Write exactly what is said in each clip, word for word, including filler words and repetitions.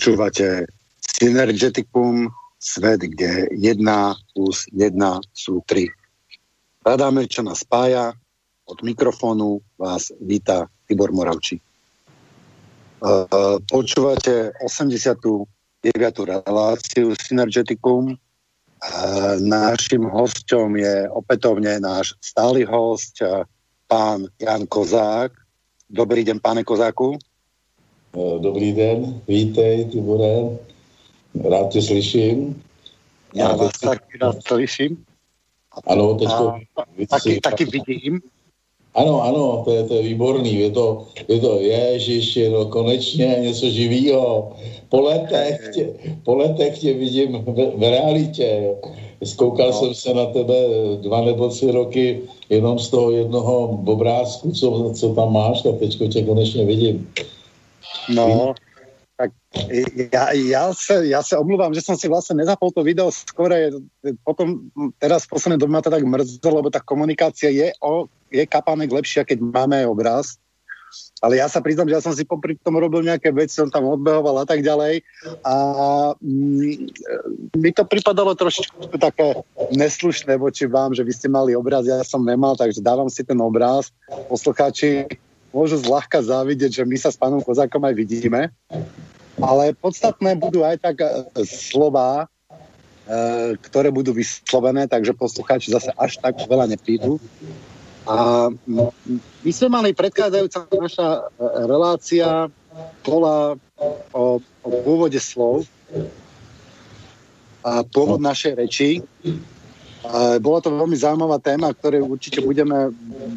Počúvate Synergeticum, svet, kde jedna plus jedna sú tri. Radáme, čo nás spája. Od mikrofónu vás víta Tibor Moravčík. Počúvate osemdesiatu deviatu reláciu Synergeticum. Naším hosťom je opätovne náš stály host, pán Jan Kozák. Dobrý deň, páne Kozáku. Dobrý den, vítej, Tibore. Rád tě slyším. Já vás teď... taky rád slyším. Ano, teďko... Taky, taky vidím. Ano, ano, to je, to je výborný. Je to, je to ježiši, no konečně něco živýho. Po letech tě, po letech tě vidím v, v realitě. Zkoukal no. jsem se na tebe dva nebo tři roky jenom z toho jednoho obrázku, co, co tam máš, tak teďko tě konečně vidím. No, tak ja, ja, sa, ja sa omluvám, že som si vlastne nezapol to video skore, potom teraz v poslednej dobe ma to tak mrzelo, lebo tá komunikácia je, o, je kapánek lepšia, keď máme obraz, ale ja sa priznám, že ja som si popri tom robil nejaké veci, som tam odbehoval a tak ďalej a mm, mi to pripadalo trošku také neslušné voči vám, že vy ste mali obraz, ja som nemal, takže dávam si ten obraz, poslucháči môžu zľahka závidieť, že my sa s pánom Kozákom aj vidíme. Ale podstatné budú aj tak slová, e, ktoré budú vyslovené, takže poslucháči zase až tak veľa neprídu. A my sme mali predchádzajúca naša relácia bola o, o pôvode slov a pôvod našej reči. A bola to veľmi zaujímavá téma, ktoré určite budeme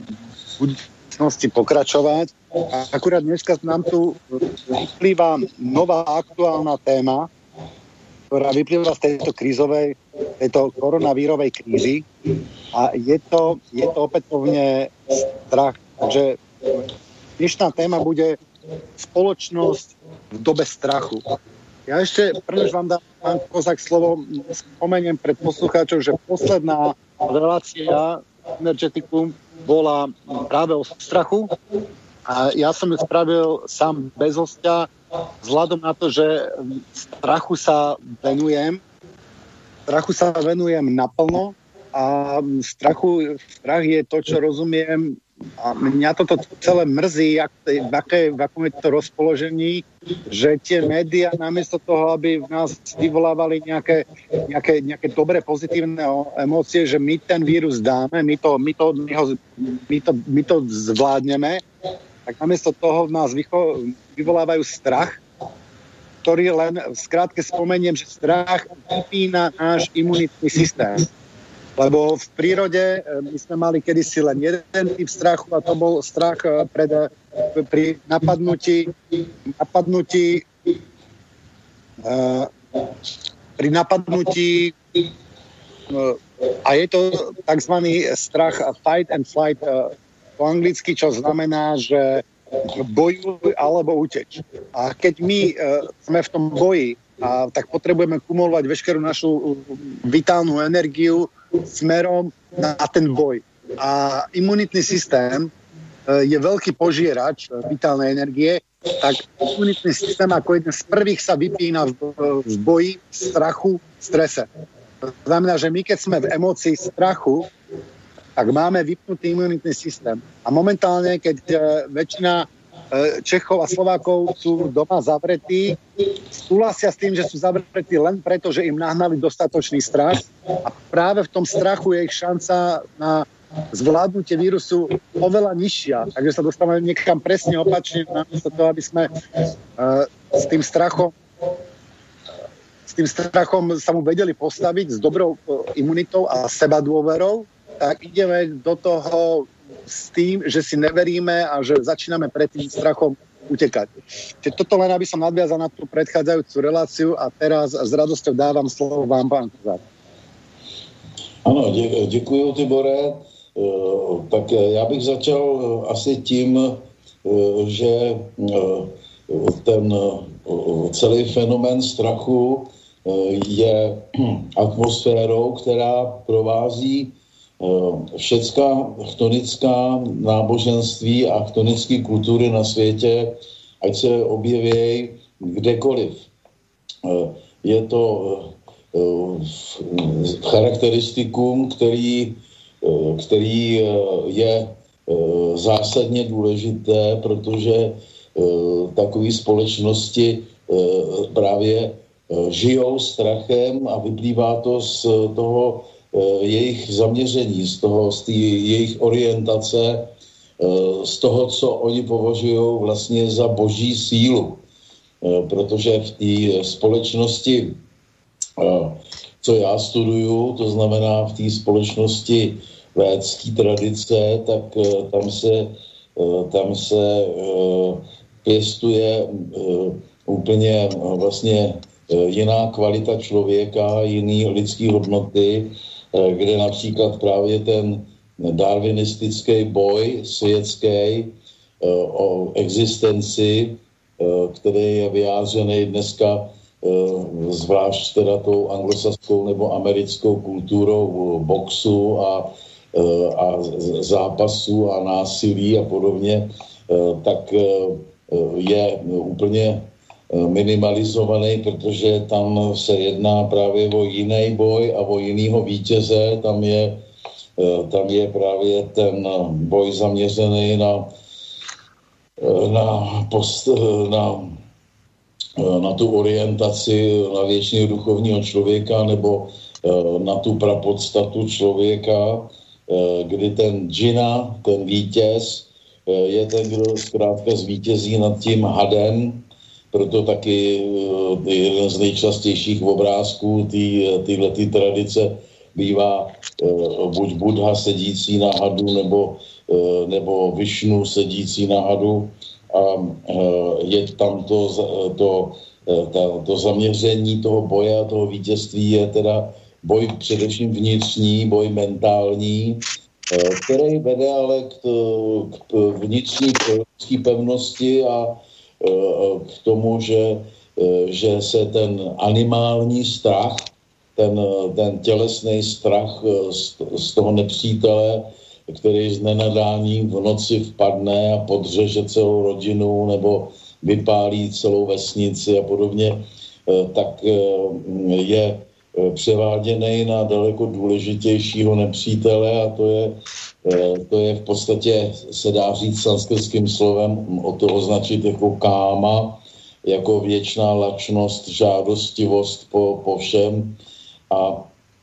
pokračovať. A akurát dneska nám tu vyplýva nová aktuálna téma, ktorá vyplýva z tejto krízovej, tejto koronavírovej krízy a je to, je to opätovne strach. Takže dnešná téma bude spoločnosť v dobe strachu. Ja ešte, prvnež vám dám, pán Kozák, slovo, spomeniem pred poslucháčov, že posledná relácia Synergeticum bola práve o strachu a ja som ju spravil sám bez hostia vzhľadom na to, že strachu sa venujem strachu sa venujem naplno a strachu, strach je to, čo rozumiem a mňa toto celé mrzí, jak, v, aké, v akom je to rozpoložení, že tie médiá namiesto toho, aby v nás vyvolávali nejaké, nejaké, nejaké dobré, pozitívne emócie, že my ten vírus dáme, my to, my to, my ho, my to, my to zvládneme, tak namiesto toho v nás vycho, vyvolávajú strach, ktorý len v skrátke spomeniem, že strach vypína náš imunitný systém. Lebo v prírode my sme mali kedysi len jeden typ strachu a to bol strach pred, pri napadnutí, napadnutí uh, pri napadnutí uh, a je to takzvaný strach fight and flight uh, po anglicky, čo znamená, že bojuj alebo uteč. A keď my uh, sme v tom boji, a tak potrebujeme kumulovať veškerú našu vitálnu energiu smerom na ten boj. A imunitný systém je veľký požierač vitálnej energie, tak imunitný systém ako jeden z prvých sa vypína v, v boji, strachu, strese. To znamená, že my keď sme v emócii strachu, tak máme vypnutý imunitný systém. A momentálne, keď väčšina Čechov a Slovákov sú doma zavretí, súhlasia s tým, že sú zavretí len preto, že im nahnali dostatočný strach a práve v tom strachu je ich šanca na zvládnutie vírusu oveľa nižšia. Takže sa dostávame niekam presne opačne, namiesto toho, aby sme uh, s tým strachom s tým strachom sa mu vedeli postaviť s dobrou uh, imunitou a sebadôverou, tak ideme do toho s tým, že si neveríme a že začíname pred tým strachom utekať. Čiže toto len, aby som nadviazal na tú predchádzajúcu reláciu a teraz s radosťou dávam slovo vám, pán Kozák. Ano, dě, děkuji, Tibore. E, tak já bych začal asi tím, e, že e, ten e, celý fenomén strachu e, je atmosférou, která provází všecká chtonická náboženství a chtonické kultury na světě, ať se objeví kdekoliv. je to charakteristikum, který, který je zásadně důležité, protože takové společnosti právě žijou strachem a vyplývá to z toho jejich zaměření, z toho, z té jejich orientace, z toho, co oni považují vlastně za boží sílu. Protože v té společnosti, co já studuju, to znamená v té společnosti védské tradice, tak tam se, tam se pěstuje úplně vlastně jiná kvalita člověka, jiný lidský hodnoty, kde například právě ten darwinistický boj světský o existenci, který je vyjádřený dneska zvlášť teda tou anglosaskou nebo americkou kulturou boxu a, a zápasů a násilí a podobně, tak je úplně minimalizovaný, protože tam se jedná právě o jiný boj a o jinýho vítěze. Tam je, tam je právě ten boj zaměřený na, na, post, na, na tu orientaci na věčného duchovního člověka nebo na tu prapodstatu člověka, kdy ten džina, ten vítěz, je ten, kdo zkrátka zvítězí nad tím hadem. Proto taky jeden z nejčastějších obrázků téhle tradice bývá buď Buddha sedící na hadu, nebo, nebo Višnu sedící na hadu. A je tam to, to, to, to zaměření toho boje a toho vítězství je teda boj především vnitřní, boj mentální, který vede ale k, k vnitřní pevnosti a k tomu, že, že se ten animální strach, ten, ten tělesný strach z, z toho nepřítele, který z nenadání v noci vpadne a podřeže celou rodinu nebo vypálí celou vesnici a podobně, tak je převáděný na daleko důležitějšího nepřítele a to je, to je v podstatě, se dá říct sanskrtským slovem, o to označit jako káma, jako věčná lačnost, žádostivost po, po všem. A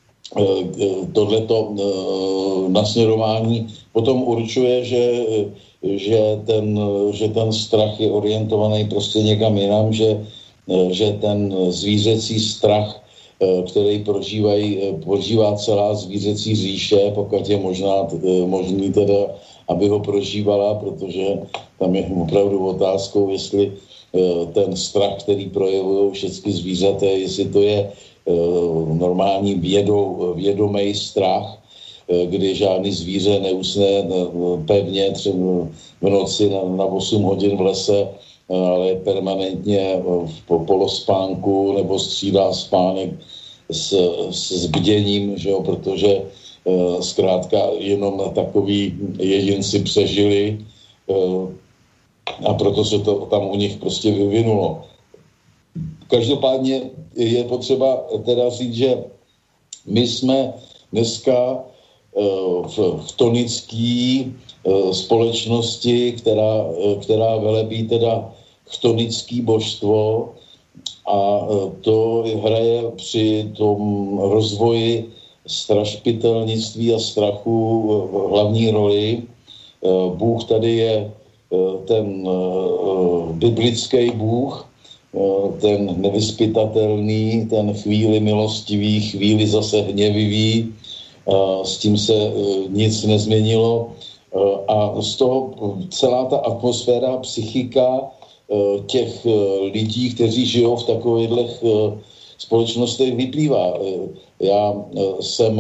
tohleto nasměrování potom určuje, že, že, ten, že ten strach je orientovaný prostě někam jinam, že, že ten zvířecí strach, který prožívají, prožívá celá zvířecí říše, pokud je možná, možný teda, aby ho prožívala, protože tam je opravdu otázkou, jestli ten strach, který projevují všechny zvířata, jestli to je normální vědou, vědomý strach, kdy žádný zvíře neusne pevně třeba v noci na, na osm hodin v lese, ale je permanentně v polospánku nebo střídá spánek s, s bděním, že jo, protože uh, zkrátka jenom takový jedinci přežili uh, a proto se to tam u nich prostě vyvinulo. Každopádně je potřeba teda říct, že my jsme dneska uh, v, v tonické uh, společnosti, která, uh, která velebí teda chtonické božstvo a to hraje při tom rozvoji strašpitelnictví a strachu hlavní roli. Bůh tady je ten biblický Bůh, ten nevyzpytatelný, ten chvíli milostivý, chvíli zase hněvivý, s tím se nic nezměnilo a z toho celá ta atmosféra, psychika těch lidí, kteří žijou v takových společnostech vyplývá. Já jsem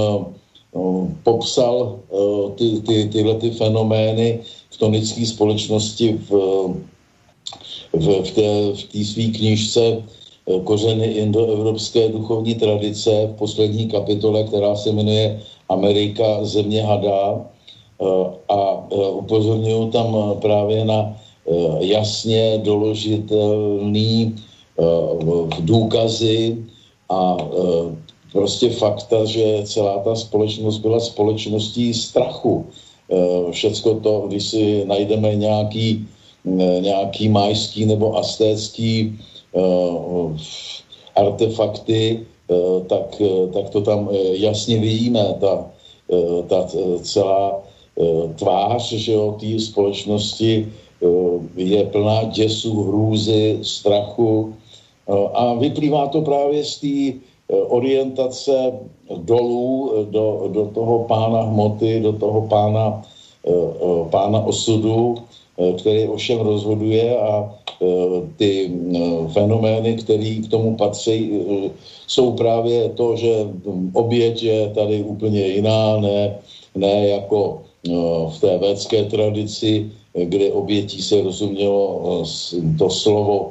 popsal ty, ty, tyhle ty fenomény v tonické společnosti v, v, v té, v té své knížce Kořeny indoevropské duchovní tradice v poslední kapitole, která se jmenuje Amerika, země hada, a upozorňuji tam právě na jasně doložitelný důkazy a prostě fakta, že celá ta společnost byla společností strachu. Všecko to, když si najdeme nějaký, nějaký majský nebo aztécký artefakty, tak, tak to tam jasně vidíme. Ta, ta celá tvář, že jo, té společnosti je plná děsu, hrůzy, strachu a vyplývá to právě z té orientace dolů do, do toho pána hmoty, do toho pána, pána osudu, který ovšem rozhoduje a ty fenomény, které k tomu patří, jsou právě to, že oběť je tady úplně jiná, ne, ne jako v té védské tradici, kde obětí se rozumělo to slovo,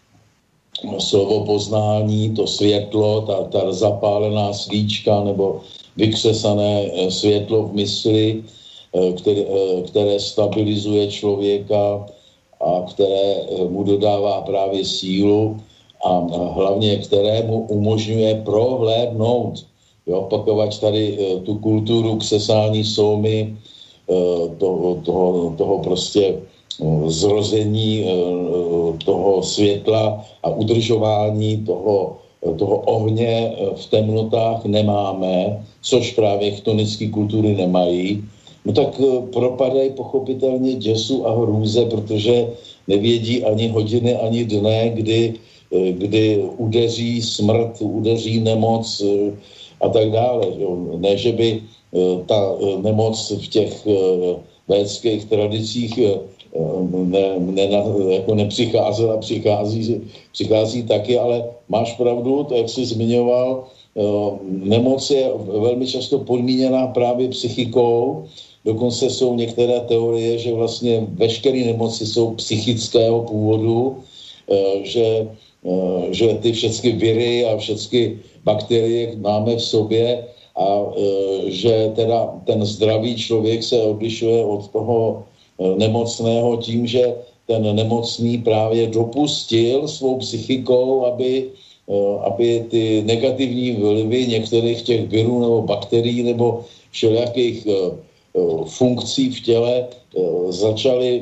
slovo poznání, to světlo, ta, ta zapálená svíčka nebo vykřesané světlo v mysli, které, které stabilizuje člověka a které mu dodává právě sílu a hlavně které mu umožňuje prohlédnout, jo, pakovat tady tu kulturu křesání solmy, toho, toho, toho prostě zrození toho světla a udržování toho, toho ohně v temnotách nemáme, což právě chtonické kultury nemají, no tak propadají pochopitelně děsu a hrůze, protože nevědí ani hodiny, ani dne, kdy, kdy udeří smrt, udeří nemoc a tak dále. Ne, že by ta nemoc v těch védských tradicích ne, ne, jako nepřicházela, přichází, přichází taky, ale máš pravdu, to, jak jsi zmiňoval, nemoc je velmi často podmíněná právě psychikou, dokonce jsou některé teorie, že vlastně veškeré nemoci jsou psychického původu, že, že ty všechny viry a všechny bakterie máme v sobě a že teda ten zdravý člověk se odlišuje od toho nemocného tím, že ten nemocný právě dopustil svou psychikou, aby, aby ty negativní vlivy některých těch virů nebo bakterií nebo všelijakých funkcí v těle začaly,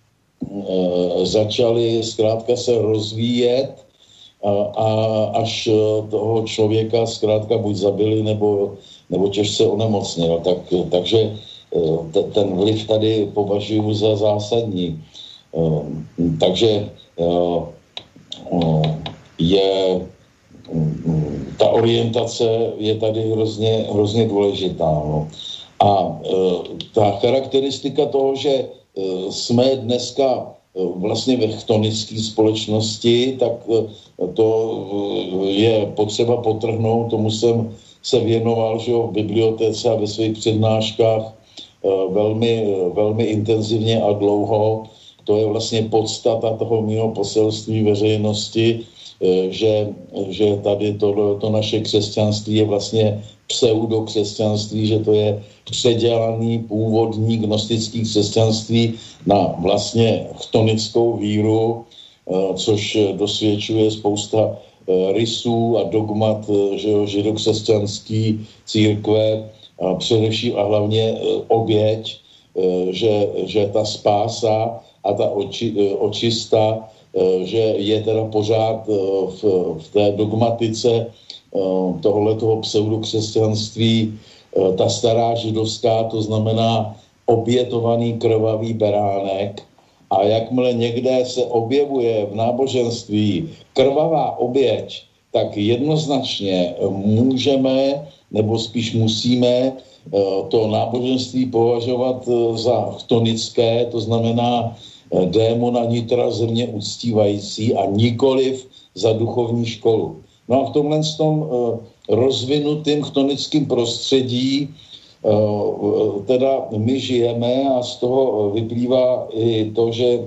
začaly zkrátka se rozvíjet a, a až toho člověka zkrátka buď zabili nebo, nebo těžce onemocnil. Tak, takže ten vliv tady považuji za zásadní. Takže je ta orientace je tady hrozně, hrozně důležitá. No. A ta charakteristika toho, že jsme dneska vlastně ve chtonické společnosti, tak to je potřeba podtrhnout, tomu jsem se věnoval, že jo, v bibliotéce a ve svých přednáškách velmi, velmi intenzivně a dlouho. To je vlastně podstata toho mého poselství veřejnosti, že, že tady to, to naše křesťanství je vlastně pseudokřesťanství, že to je předělaný původní gnostický křesťanství na vlastně chtonickou víru, což dosvědčuje spousta rysů a dogmat, že jo, židokřesťanský církve, a především a hlavně oběť, že, že ta spása a ta oči, očista, že je teda pořád v, v té dogmatice tohletoho pseudokřesťanství ta stará židovská, to znamená obětovaný krvavý beránek. A jakmile někde se objevuje v náboženství krvavá oběť, tak jednoznačně můžeme, nebo spíš musíme to náboženství považovat za chtonické, to znamená démona nitra země uctívající a nikoliv za duchovní školu. No a v tomhle tom rozvinutým chtonickým prostředí teda my žijeme a z toho vyplývá i to, že,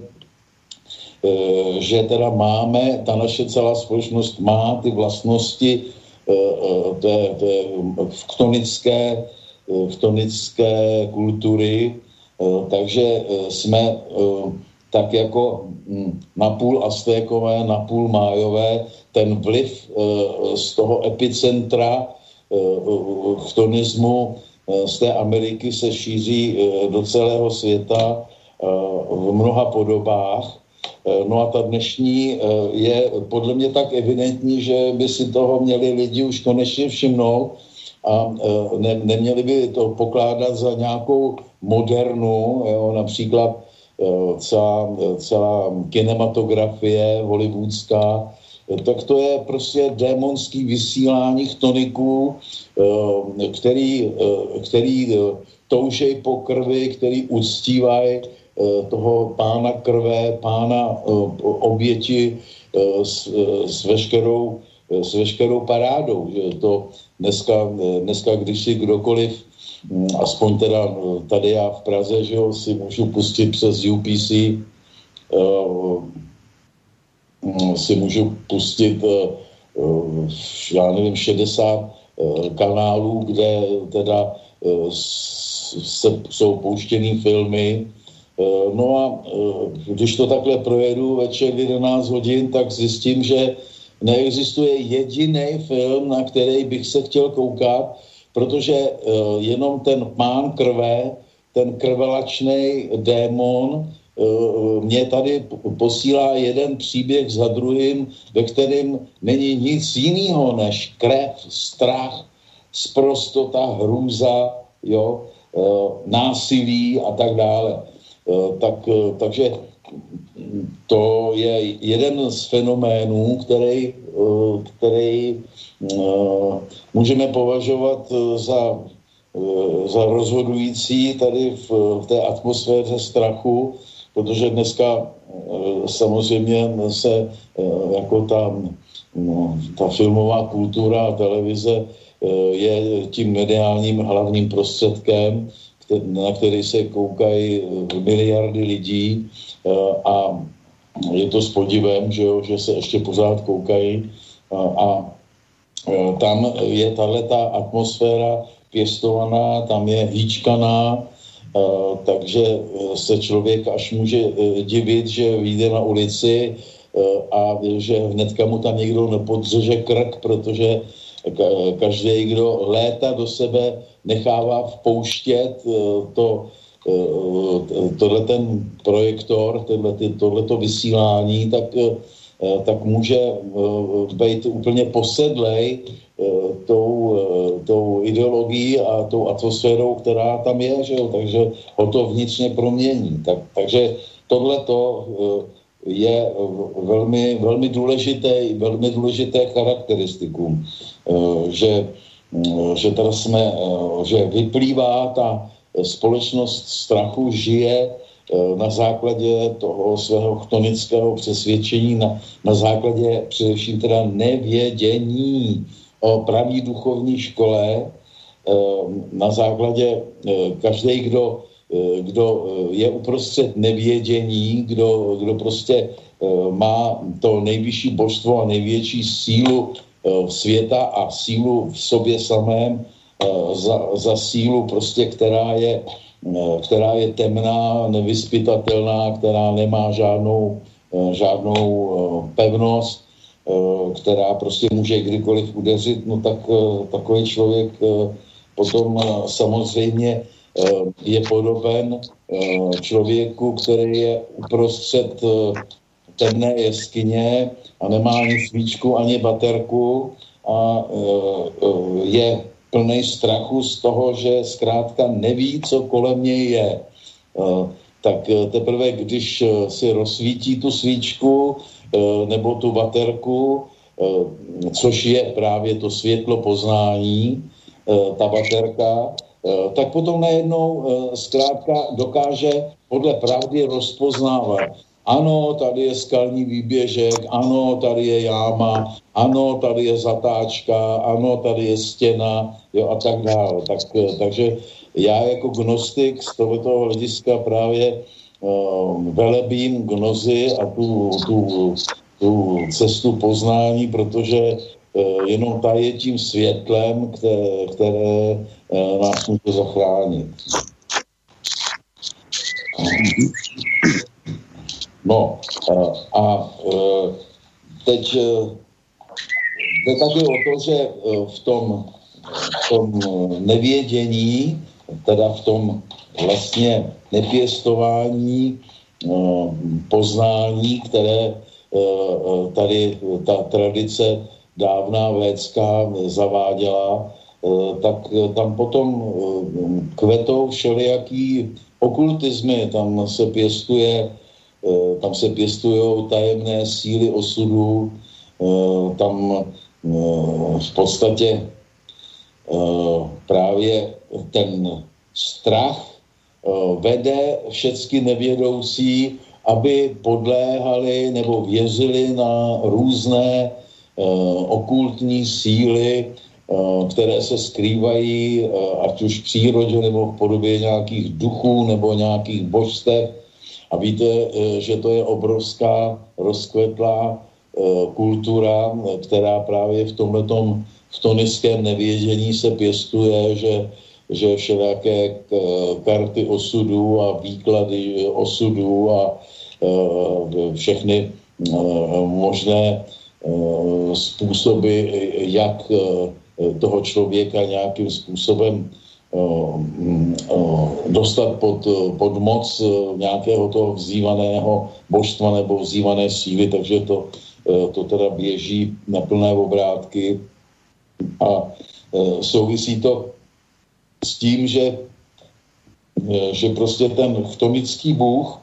že teda máme, ta naše celá společnost má ty vlastnosti té, té chtonické, chtonické kultury, takže jsme tak jako napůl aztékové, napůl májové, ten vliv z toho epicentra chtonismu z té Ameriky se šíří do celého světa v mnoha podobách. No a ta dnešní je podle mě tak evidentní, že by si toho měli lidi už konečně všimnout a ne, neměli by to pokládat za nějakou modernu, jo, například celá, celá kinematografie hollywoodská, tak to je prostě démonský vysílání chtoniků, který, který toužej po krvi, který uctívají toho pána krve, pána oběti s, s, veškerou, s veškerou parádou. Že to dneska, dneska, když si kdokoliv, aspoň teda tady já v Praze, že jo, si můžu pustit přes U P C, si můžu pustit, já nevím, šedesát kanálů, kde teda se, jsou pouštěný filmy. No a když to takhle projedu večer v jedenáct hodin, tak zjistím, že neexistuje jediný film, na který bych se chtěl koukat, protože jenom ten pán krve, ten krvelačnej démon mě tady posílá jeden příběh za druhým, ve kterém není nic jiného než krev, strach, sprostota, hrůza, jo, násilí a tak dále. Tak, takže to je jeden z fenoménů, který, který můžeme považovat za, za rozhodující tady v, v té atmosféře strachu, protože dneska samozřejmě se jako ta, ta filmová kultura a televize je tím mediálním hlavním prostředkem, na který se koukají miliardy lidí a je to s podivem, že, jo, že se ještě pořád koukají a, a tam je tahleta atmosféra pěstovaná, tam je hýčkaná, takže se člověk až může divit, že vyjde na ulici a že hnedka mu tam někdo nepodřeže krk, protože každý, kdo léta do sebe nechává vpouštět to, tohle ten projektor, tohleto vysílání, tak, tak může být úplně posedlej tou, tou ideologií a tou atmosférou, která tam je, že jo? Takže ho to vnitřně promění. Tak, takže tohleto je velmi, velmi důležité, velmi důležité charakteristikum, že, že teda jsme, že vyplývá ta společnost strachu, žije na základě toho svého chtonického přesvědčení, na, na základě především teda nevědění o pravý duchovní škole, na základě každý, kdo kdo je uprostřed nevědění, kdo, kdo prostě má to nejvyšší božstvo a největší sílu světa a sílu v sobě samém za, za sílu prostě, která je, která je temná, nevyzpytatelná, která nemá žádnou, žádnou pevnost, která prostě může kdykoliv udeřit, no tak takový člověk potom samozřejmě je podoben člověku, který je uprostřed temné jeskyně a nemá ani svíčku, ani baterku a je plný strachu z toho, že zkrátka neví, co kolem něj je. Tak teprve, když si rozsvítí tu svíčku nebo tu baterku, což je právě to světlo poznání, ta baterka, tak potom najednou zkrátka dokáže podle pravdy rozpoznávat. Ano, tady je skalní výběžek, ano, tady je jáma, ano, tady je zatáčka, ano, tady je stěna, jo, a tak dále. Tak, takže já jako gnostik z tohoto hlediska právě uh, velebím gnozy a tu, tu, tu cestu poznání, protože uh, jenom ta je tím světlem, které, které uh, nás může zachránit. No a teď jde taky o to, že v tom, v tom nevědění, teda v tom vlastně nepěstování poznání, které tady ta tradice dávná védská zaváděla, tak tam potom kvetou všelijaký okultizmy, tam se pěstuje, tam se pěstujou tajemné síly osudů, tam v podstatě právě ten strach vede všecky nevědoucí, aby podléhali nebo věřili na různé okultní síly, které se skrývají ať už v přírodě nebo v podobě nějakých duchů nebo nějakých božstev. A víte, že to je obrovská rozkvetlá kultura, která právě v tomhletom v tonickém nevědění se pěstuje, že, že všelijaké karty osudů a výklady osudů a všechny možné způsoby, jak toho člověka nějakým způsobem dostat pod, pod moc nějakého toho vzývaného božstva nebo vzývané síly, takže to, to teda běží na plné obrátky a souvisí to s tím, že, že prostě ten chtonický bůh,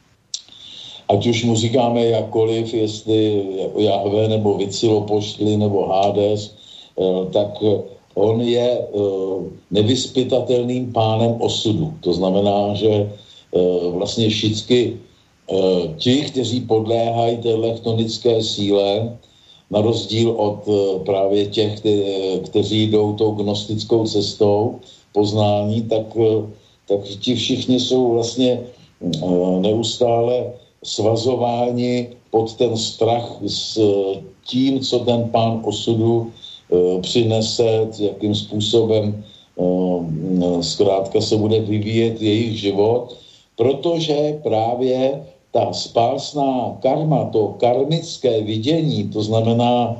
ať už mu říkáme jakkoliv, jestli Jahve nebo Huitzilopochtli nebo Hades, tak on je nevyzpytatelným pánem osudu. To znamená, že vlastně všichni ti, kteří podléhají téhle chtonické síle, na rozdíl od právě těch, kteří jdou tou gnostickou cestou poznání, tak, tak ti všichni jsou vlastně neustále svazováni pod ten strach s tím, co ten pán osudu přinese, jakým způsobem zkrátka se bude vyvíjet jejich život, protože právě ta spásná karma, to karmické vidění, to znamená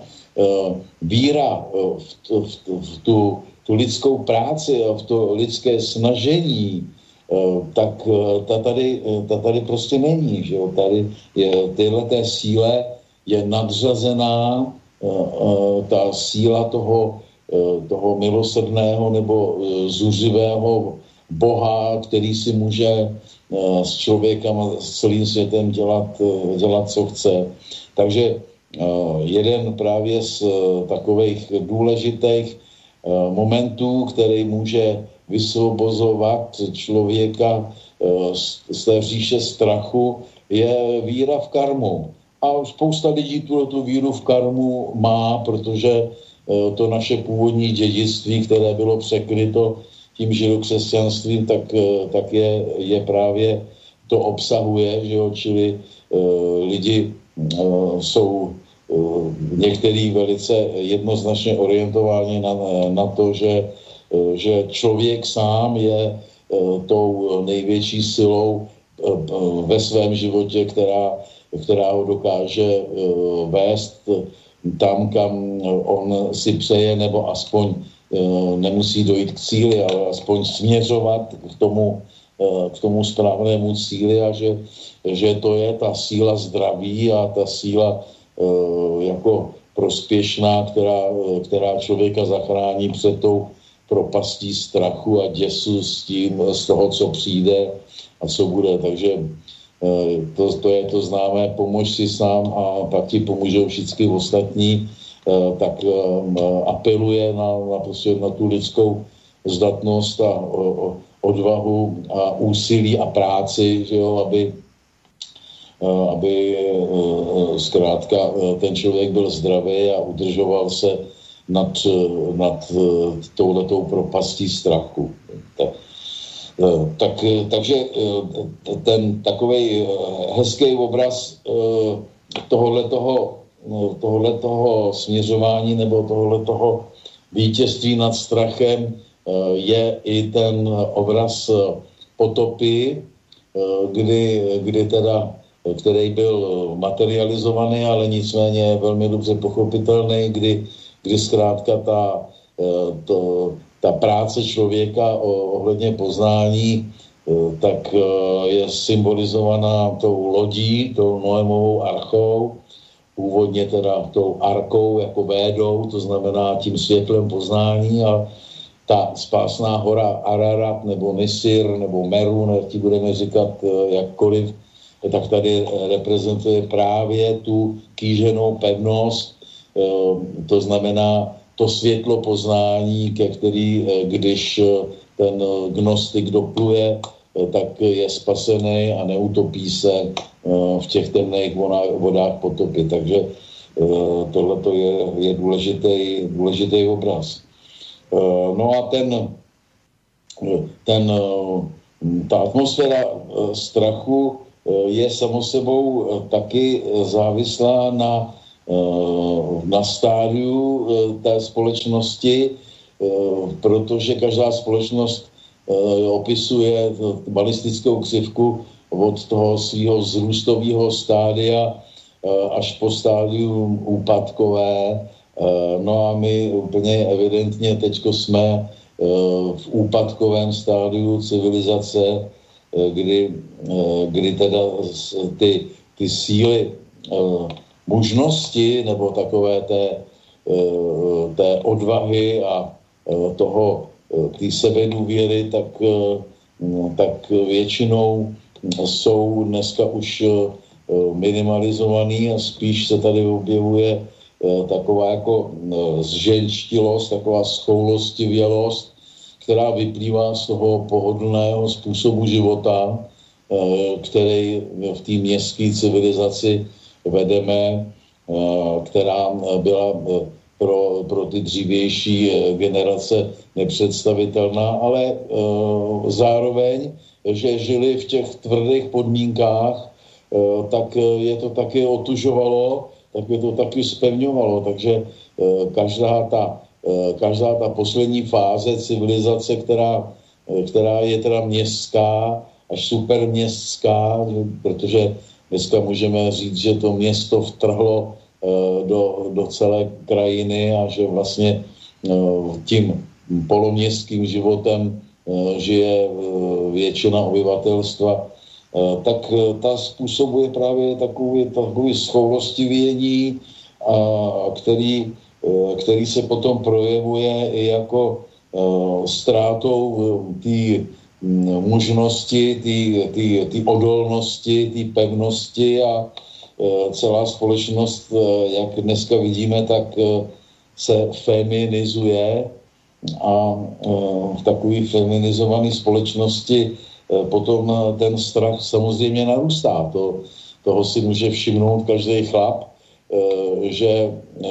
víra v, tu, v, v tu, tu lidskou práci a v to lidské snažení, tak ta tady, ta tady prostě není. Že jo? Tady je téhleté síle je nadřazená ta síla toho, toho milosrdného nebo zuřivého Boha, který si může s člověkem a s celým světem dělat, dělat co chce. Takže jeden právě z takových důležitých momentů, který může vysvobozovat člověka z té říše strachu, je víra v karmu. A spousta lidí tuhle tu víru v karmu má, protože to naše původní dědictví, které bylo překryto tím židokřesťanstvím, tak, tak je, je právě to obsahuje, že jo, čili uh, lidi uh, jsou uh, některý velice jednoznačně orientováni na, na to, že, uh, že člověk sám je uh, tou největší silou uh, ve svém životě, která, která ho dokáže uh, vést tam, kam on si přeje, nebo aspoň nemusí dojít k cíli, ale aspoň směřovat k tomu, k tomu správnému cíli a že, že to je ta síla zdraví a ta síla jako prospěšná, která, která člověka zachrání před tou propastí strachu a děsu s tím, z toho, co přijde a co bude. Takže to, to je to známé, pomož si sám a pak ti pomůžou všichni ostatní. Tak apeluje na, na, prostě na tu lidskou zdatnost a o, odvahu a úsilí a práci, že jo, aby, aby zkrátka ten člověk byl zdravý a udržoval se nad, nad touhletou propastí strachu. Tak, tak, takže ten takovej hezký obraz tohohletoho tohohletoho směřování nebo tohohletoho vítězství nad strachem je i ten obraz potopy, kdy, kdy teda který byl materializovaný, ale nicméně velmi dobře pochopitelný, kdy, kdy zkrátka ta, to, ta práce člověka ohledně poznání tak je symbolizovaná tou lodí, tou Noémovou archou, původně teda tou arkou jako védou, to znamená tím světlem poznání, a ta spásná hora Ararat nebo Nisir nebo Meru, jak ti budeme říkat jakkoliv, tak tady reprezentuje právě tu kýženou pevnost, to znamená to světlo poznání, ke který, když ten gnostik dopluje, tak je spasený a neutopí se v těch temných vodách potopy. Takže tohleto je, je důležitý, důležitý obraz. No a ten, ten, ta atmosféra strachu je samo sebou taky závislá na, na stádiu té společnosti, protože každá společnost opisuje balistickou křivku od toho svého vzrůstového stádia až po stádium úpadkové. No a my úplně evidentně teďko jsme v úpadkovém stádiu civilizace, kdy, kdy teda ty, ty síly mužnosti nebo takové té, té odvahy a toho té sebedůvěry, tak, tak většinou jsou dneska už minimalizovaný a spíš se tady objevuje taková jako zženštilost, taková schoulostivělost, která vyplývá z toho pohodlného způsobu života, který v té městské civilizaci vedeme, která byla pro, pro ty dřívější generace nepředstavitelná, ale zároveň, že žili v těch tvrdých podmínkách, tak je to taky otužovalo, tak je to taky zpevňovalo. Takže každá ta, každá ta poslední fáze civilizace, která, která je teda městská, až superměstská, protože dneska můžeme říct, že to město vtrhlo do, do celé krajiny a že vlastně tím poloměstským životem žije většina obyvatelstva, tak ta způsobuje právě takový, takový schoulostivění, který, který se potom projevuje i jako ztrátou té mužnosti, té odolnosti, té pevnosti, a celá společnost, jak dneska vidíme, tak se feminizuje a v takové feminizované společnosti potom ten strach samozřejmě narůstá. To, toho si může všimnout každý chlap, že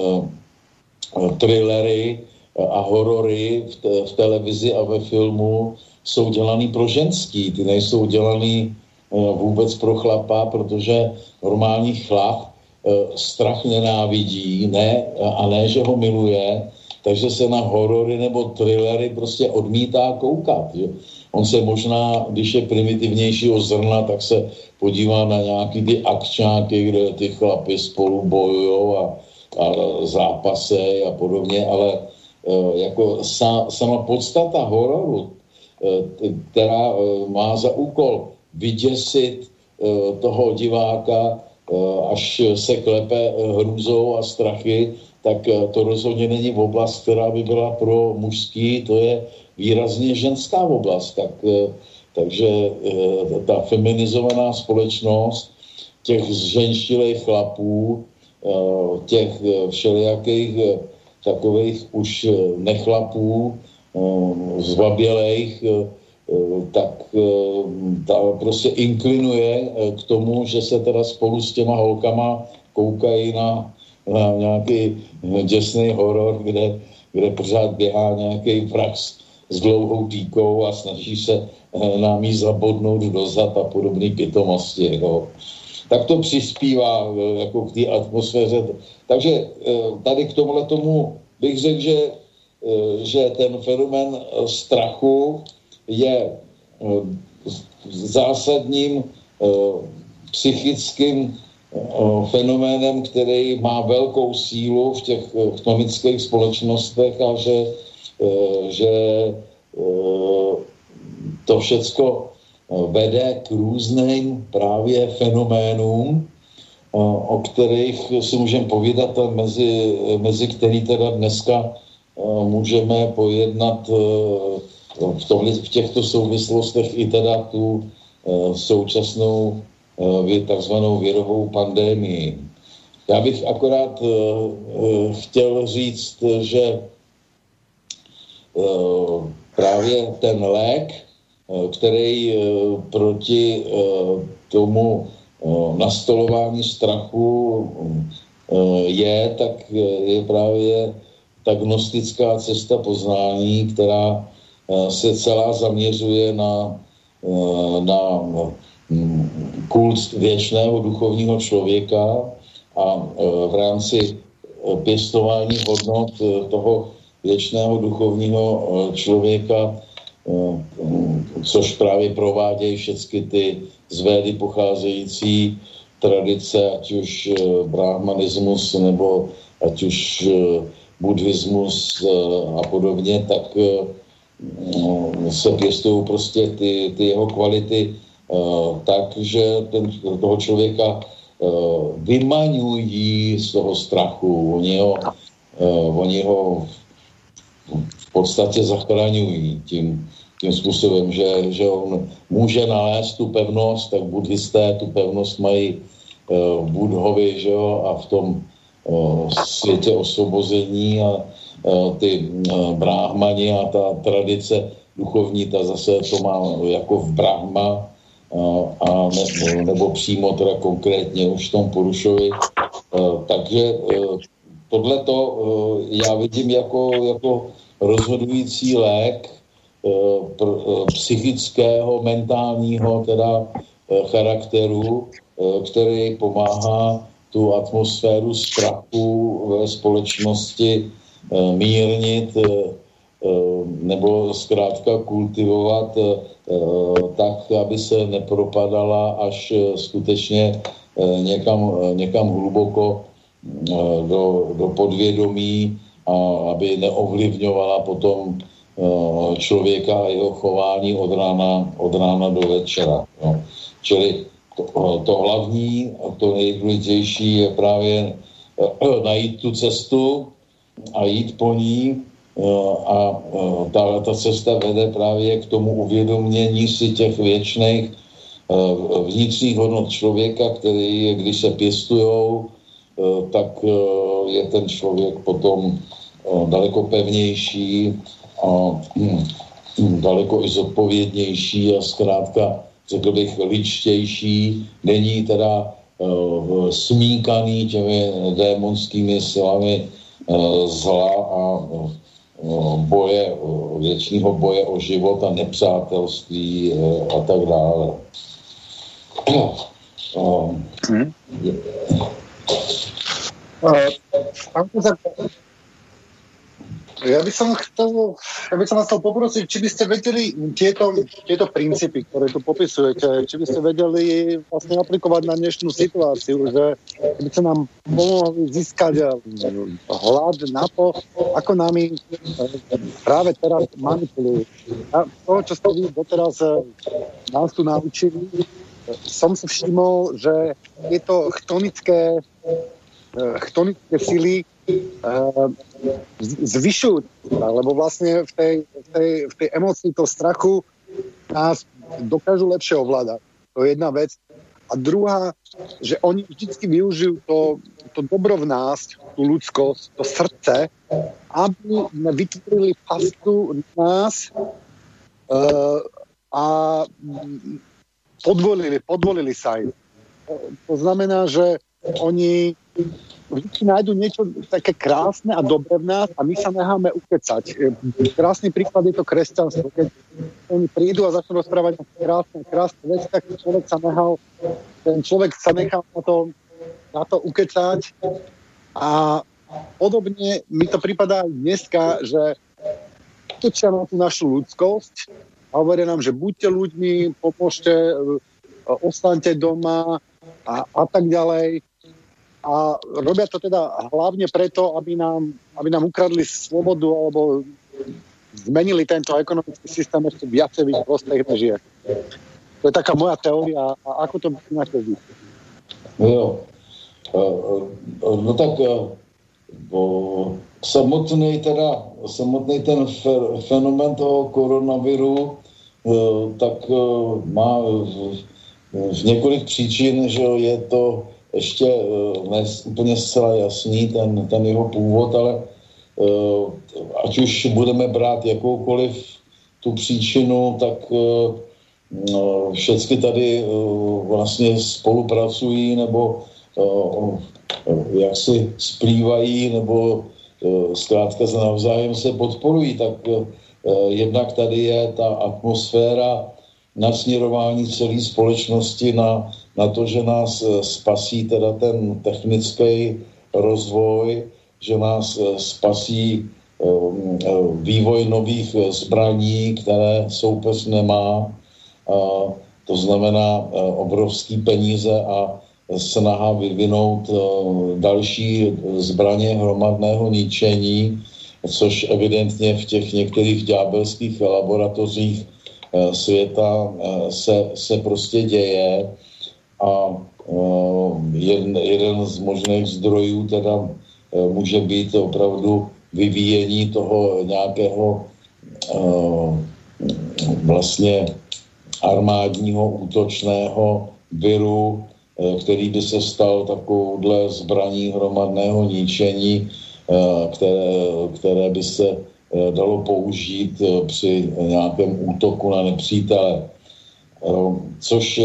thrillery a horory v, te, v televizi a ve filmu jsou dělaný pro ženský, ty nejsou dělaný vůbec pro chlapa, protože normální chlap strach nenávidí, ne, a ne, že ho miluje, takže se na horory nebo thrillery prostě odmítá koukat. Že? On se možná, když je primitivnějšího zrna, tak se podívá na nějaký ty akčáky, kde ty chlapy spolu bojujou a, a zápasy a podobně, ale jako sa, sama podstata hororu, která má za úkol vyděsit toho diváka, až se klepe hrůzou a strachy, tak to rozhodně není oblast, která by byla pro mužský, to je výrazně ženská oblast. Tak, takže ta feminizovaná společnost těch zženštilých chlapů, těch všelijakých takových už nechlapů, zbabělejch, tak ta prostě inklinuje k tomu, že se teda spolu s těma holkama koukají na, na nějaký děsný horor, kde, kde pořád běhá nějaký vrah s dlouhou dýkou a snaží se nám jí zabodnout do zad a podobné pitomosti. No. Tak to přispívá jako k té atmosféře. Takže tady k tomuhle tomu bych řekl, že, že ten fenomén strachu je zásadním psychickým fenoménem, který má velkou sílu v těch chtonických společnostech a že, že to všecko vede k různým právě fenoménům, o kterých si můžeme povídat, mezi, mezi který teda dneska můžeme pojednat v, tohle, v těchto souvislostech i teda tu současnou takzvanou virovou pandémii. Já bych akorát chtěl říct, že právě ten lék, který proti tomu nastolování strachu je, tak je právě ta gnostická cesta poznání, která se celá zaměřuje na, na kult věčného duchovního člověka a v rámci pěstování hodnot toho věčného duchovního člověka, což právě provádějí všechny ty z Védy pocházející tradice, ať už brahmanismus nebo ať už buddhismus a podobně, tak se pěstují prostě ty, ty jeho kvality tak, že ten, toho člověka vymaňují z toho strachu. Oni ho, oni ho v podstatě zachraňují tím, tím způsobem, že, že on může nalézt tu pevnost, tak buddhisté tu pevnost mají v Buddhovi, že jo, a v tom světě osvobození a ty bráhmani a ta tradice duchovní, ta zase to má jako v Brahma a ne, nebo přímo teda konkrétně už v tom Purušovi. Takže tohleto já vidím jako, jako rozhodující lék psychického, mentálního teda charakteru, který pomáhá tu atmosféru strachu ve společnosti mírnit nebo zkrátka kultivovat tak, aby se nepropadala až skutečně někam, někam hluboko do, do podvědomí a aby neovlivňovala potom člověka a jeho chování od rána, od rána do večera. No. Čili to, to hlavní, to nejdůležitější je právě najít tu cestu a jít po ní a ta, ta cesta vede právě k tomu uvědomění si těch věčných vnitřních hodnot člověka, který, když se pěstujou, tak je ten člověk potom daleko pevnější a daleko i zodpovědnější a zkrátka, řekl bych, ličtější. Není teda smíkaný těmi démonskými silami zla a boje, věčného boje o život a nepřátelství a tak dále. Hmm. Ja by som chcel, ja by som vás chcel poprosiť, či by ste vedeli tieto, tieto princípy, ktoré tu popisujete, či by ste vedeli vlastne aplikovať na dnešnú situáciu, že by sa nám pomohli získať hľad na to, ako nami práve teraz manipulujú. A to, čo ste vy doteraz nás tu naučili, som si všimol, že tieto chtonické, chtonické sily zvyšujú, lebo vlastne v tej, v tej, v tej emócii toho strachu nás dokážu lepšie ovládať. To je jedna vec. A druhá, že oni vždycky využijú to, to dobro v nás, tú ľudskosť, to srdce, aby vytvorili pastu nás uh, a podvolili, podvolili sa im. To znamená, že oni vždy nájdu niečo také krásne a dobré v nás a my sa necháme ukecať. Krásny príklad je to kresťanstvo. Keď oni prídu a začnú rozprávať krásne, krásne veci, tak človek sa nechal, ten človek sa nechal na to, na to ukecať. A podobne mi to prípada aj dneska, že točia na tú našu ľudskosť a hovoria nám, že buďte ľuďmi, pomôžte, ostaňte doma, a, a tak ďalej. A robia to teda hlavne preto, aby nám, aby nám ukradli slobodu alebo zmenili tento ekonomický systém ešte viacej v ich prospech než je. To je taká moja teória. A ako to máte vy? Jo. No tak samotný teda, samotný ten fenomén toho koronaviru tak má v několik příčin, že je to ještě ne úplně zcela jasný, ten, ten jeho původ, ale ať už budeme brát jakoukoliv tu příčinu, tak všechny tady vlastně spolupracují nebo jak si splývají nebo zkrátka navzájem se podporují, tak jednak tady je ta atmosféra nasměrování celé společnosti na, na to, že nás spasí teda ten technický rozvoj, že nás spasí vývoj nových zbraní, které soupeř nemá. To znamená obrovský peníze a snaha vyvinout další zbraně hromadného ničení, což evidentně v těch některých ďábelských laboratořích světa se, se prostě děje a jeden, jeden z možných zdrojů teda může být opravdu vyvíjení toho nějakého vlastně armádního útočného viru, který by se stal takovouhle zbraní hromadného ničení, které, které by se dalo použít při nějakém útoku na nepřítele. Což,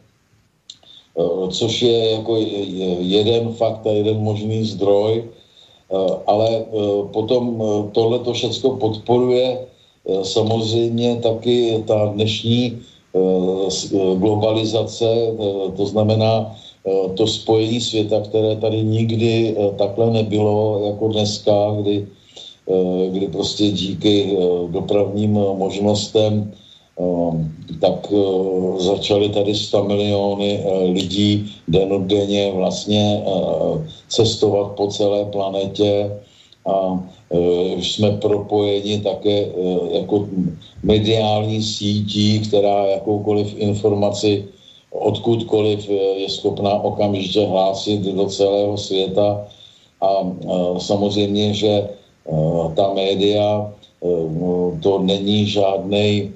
což je jako jeden fakt a jeden možný zdroj, ale potom tohleto všecko podporuje samozřejmě taky ta dnešní globalizace, to znamená to spojení světa, které tady nikdy takhle nebylo jako dneska, kdy, kdy prostě díky dopravním možnostem tak začaly tady sto miliony lidí dennodenně vlastně cestovat po celé planetě a jsme propojeni také jako mediální sítí, která jakoukoliv informaci odkudkoliv je schopná okamžitě hlásit do celého světa a samozřejmě, že ta média to není žádnej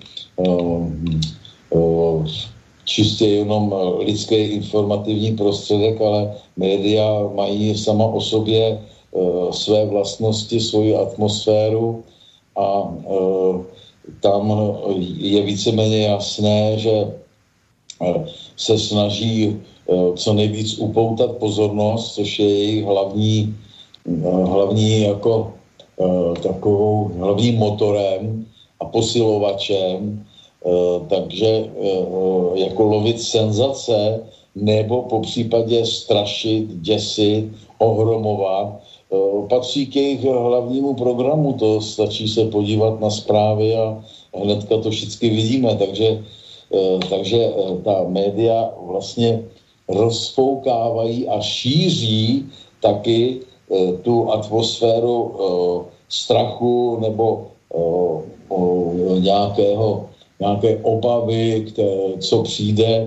čistě jenom lidský informativní prostředek, ale média mají sama o sobě své vlastnosti, svoji atmosféru a tam je víceméně jasné, že se snaží co nejvíc upoutat pozornost, což je jejich hlavní, hlavní jako takovou hlavním motorem a posilovačem, takže jako lovit senzace nebo popřípadě strašit, děsit, ohromovat, patří k jejich hlavnímu programu, to stačí se podívat na zprávy a hnedka to všichni vidíme, takže, takže ta média vlastně rozfoukávají a šíří taky tu atmosféru strachu nebo nějakého, nějaké obavy, které, co přijde,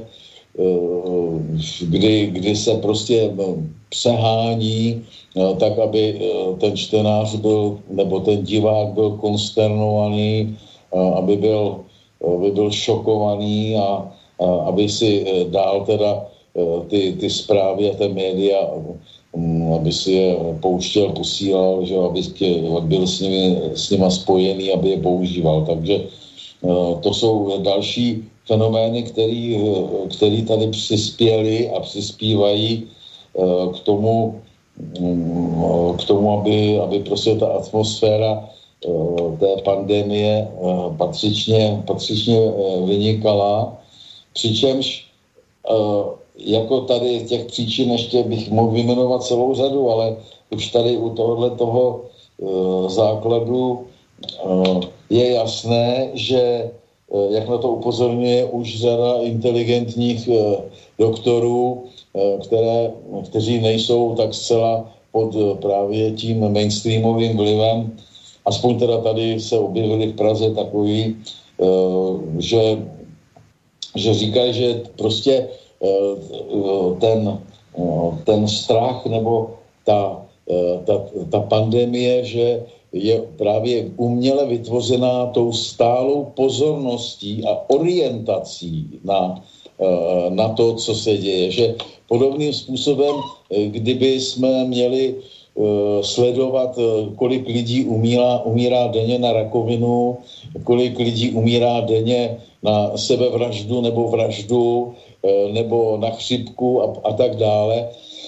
kdy, kdy se prostě přehání, tak aby ten čtenář byl, nebo ten divák byl konsternovaný, aby byl, aby byl šokovaný a, a aby si dál teda ty, ty zprávy a ty média, aby si je pouštěl, posílal, že aby byl s nimi, s nima spojený, aby je používal. Takže to jsou další fenomény, který, který tady přispěli a přispívají k tomu, k tomu, aby, aby prostě ta atmosféra té pandemie patřičně, patřičně vynikala. Přičemž jako tady těch příčin ještě bych mohl vyjmenovat celou řadu, ale už tady u tohohle toho základu je jasné, že jak na to upozorňuje už řada inteligentních doktorů, které, kteří nejsou tak zcela pod právě tím mainstreamovým vlivem. Aspoň teda tady se objevili v Praze takový, že, že říkají, že prostě ten, ten strach nebo ta, ta, ta pandemie, že je právě uměle vytvořená tou stálou pozorností a orientací na, na to, co se děje. Že podobným způsobem, kdyby jsme měli sledovat, kolik lidí umírá, umírá denně na rakovinu, kolik lidí umírá denně na sebevraždu nebo vraždu, nebo na chřipku a, a tak dále.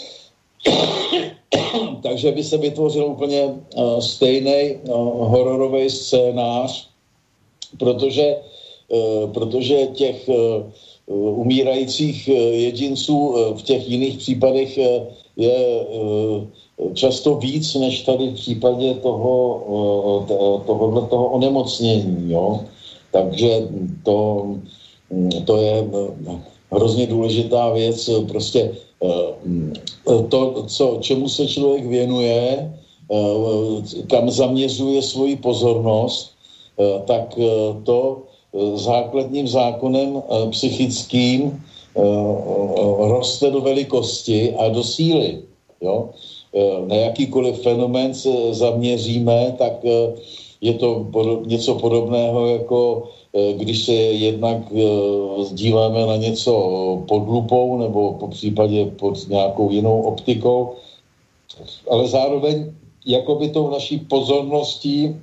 Takže by se vytvořil úplně uh, stejný uh, hororový scénář, protože, uh, protože těch uh, umírajících uh, jedinců uh, v těch jiných případech uh, je uh, často víc, než tady v případě toho, uh, tohohle toho onemocnění. Jo? Takže to, to je uh, hrozně důležitá věc, prostě to, co, čemu se člověk věnuje, kam zaměřuje svoji pozornost, tak to základním zákonem psychickým roste do velikosti a do síly. Jo? Na jakýkoliv fenomén se zaměříme, tak je to něco podobného jako když se jednak díváme na něco pod lupou nebo po případě pod nějakou jinou optikou, ale zároveň jakoby tou naší pozorností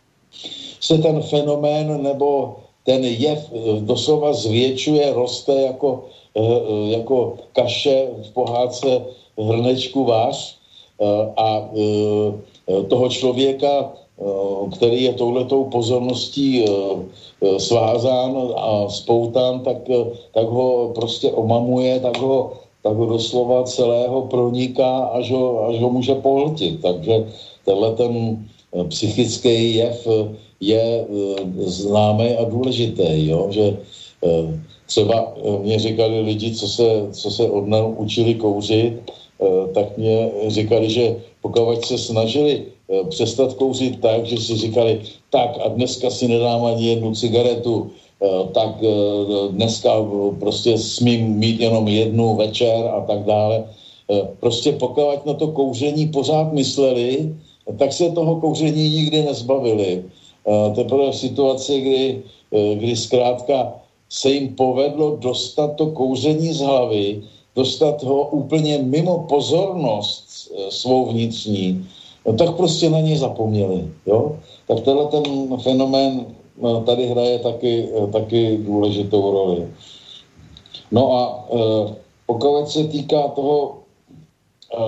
se ten fenomén nebo ten jev doslova zvětšuje, roste jako, jako kaše v pohádce hrnečku vář a toho člověka, který je touhletou pozorností svázán a spoután, tak, tak ho prostě omamuje, tak ho, tak ho doslova celého proniká, až ho, až ho může pohltit. Takže tenhle ten psychický jev je známý a důležitý, jo? Že třeba mě říkali lidi, co se, co se od nás učili kouřit, tak mě říkali, že pokud se snažili přestat kouřit tak, že si říkali, tak a dneska si nedám ani jednu cigaretu, tak dneska prostě smím mít jenom jednu večer a tak dále. Prostě pokud na to kouření pořád mysleli, tak se toho kouření nikdy nezbavili. Teprve v situaci, kdy, kdy zkrátka se jim povedlo dostat to kouření z hlavy, dostat ho úplně mimo pozornost svou vnitřní, no tak prostě na něj zapomněli. Jo? Tak tenhle ten fenomén tady hraje taky, taky důležitou roli. No a e, pokud se týká toho e,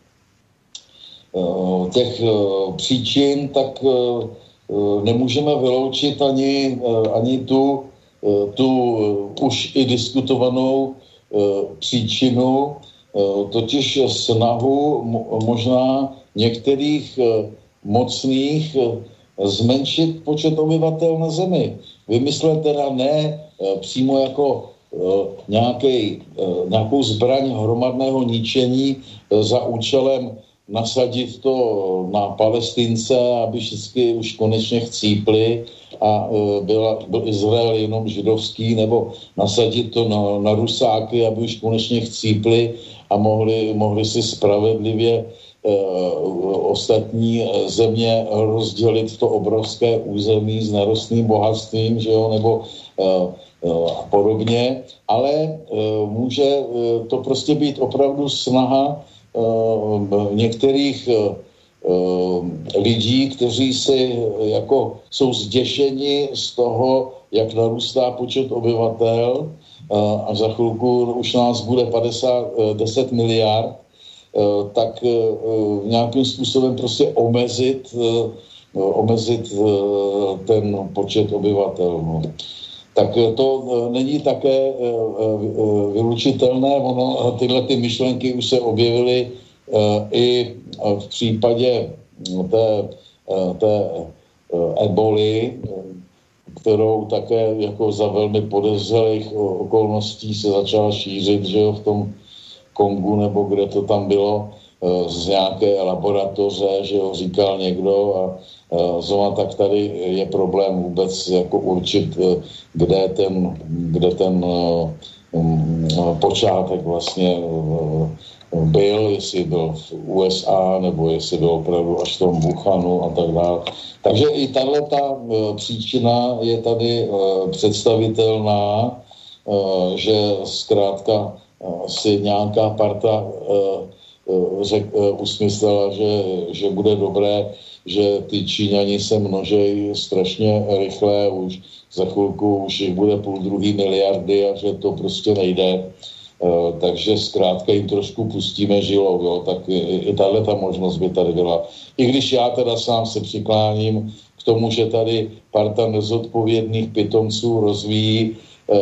e, těch e, příčin, tak e, nemůžeme vyloučit ani, e, ani tu, e, tu e, už i diskutovanou e, příčinu, e, totiž snahu mo, možná některých e, mocných e, zmenšit počet obyvatel na Zemi. Vymyslet teda ne e, přímo jako e, nějakej, e, nějakou zbraň hromadného ničení e, za účelem nasadit to na Palestince, aby všichni už konečně chcípli a e, byla, byl Izrael jenom židovský, nebo nasadit to na, na Rusáky, aby už konečně chcípli a mohli, mohli si spravedlivě ostatní země rozdělit to obrovské území s nerostným bohatstvím, že jo, nebo a podobně, ale může to prostě být opravdu snaha některých lidí, kteří si jako jsou zděšeni z toho, jak narůstá počet obyvatel a za chvilku už nás bude padesát, deset miliard, tak nějakým způsobem prostě omezit, omezit ten počet obyvatel. No. Tak to není také vylučitelné, ono, tyhle ty myšlenky už se objevily i v případě té, té eboli, kterou také jako za velmi podezřelých okolností se začala šířit, že jo, v tom Kongu, nebo kde to tam bylo, z nějaké laboratoře, že ho říkal někdo a zrovna tak tady je problém vůbec jako určit, kde ten, kde ten počátek vlastně byl, jestli byl v U S A, nebo jestli byl opravdu až v tom Wuhanu a tak dále. Takže i tato příčina je tady představitelná, že zkrátka si nějaká parta řek, usmyslela, že, že bude dobré, že ty Číňani se množejí strašně rychle, už za chvilku už jich bude půl druhý miliardy a že to prostě nejde. Takže zkrátka jim trošku pustíme žilou, jo, tak i, i tahle ta možnost by tady byla. I když já teda sám se přikláním k tomu, že tady parta nezodpovědných pitomců rozvíjí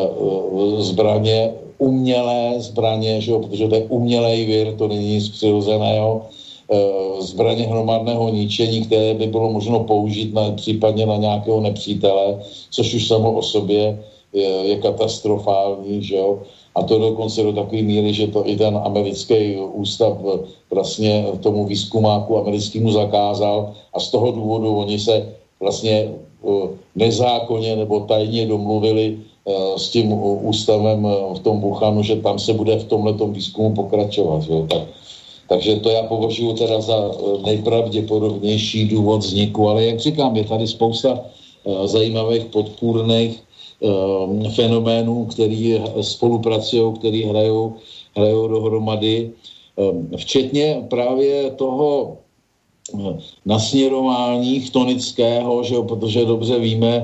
zbraně, umělé zbraně, že jo, protože to je umělej vir, to není nic přirozeného, zbraně hromadného ničení, které by bylo možno použít na, případně na nějakého nepřítele, což už samo o sobě je, je katastrofální, že jo. A to dokonce do takové míry, že to i ten americký ústav vlastně tomu výzkumáku americkému zakázal a z toho důvodu oni se vlastně nezákonně nebo tajně domluvili s tím ústavem v tom Wuhanu, že tam se bude v tomhletom výzkumu pokračovat. Jo. Tak, takže to já považuji teda za nejpravděpodobnější důvod vzniku, ale jak říkám, je tady spousta zajímavých podpůrných fenoménů, který spolupracují, který hrajou, hrajou dohromady, včetně právě toho nasměrování chtonického, že jo, protože dobře víme,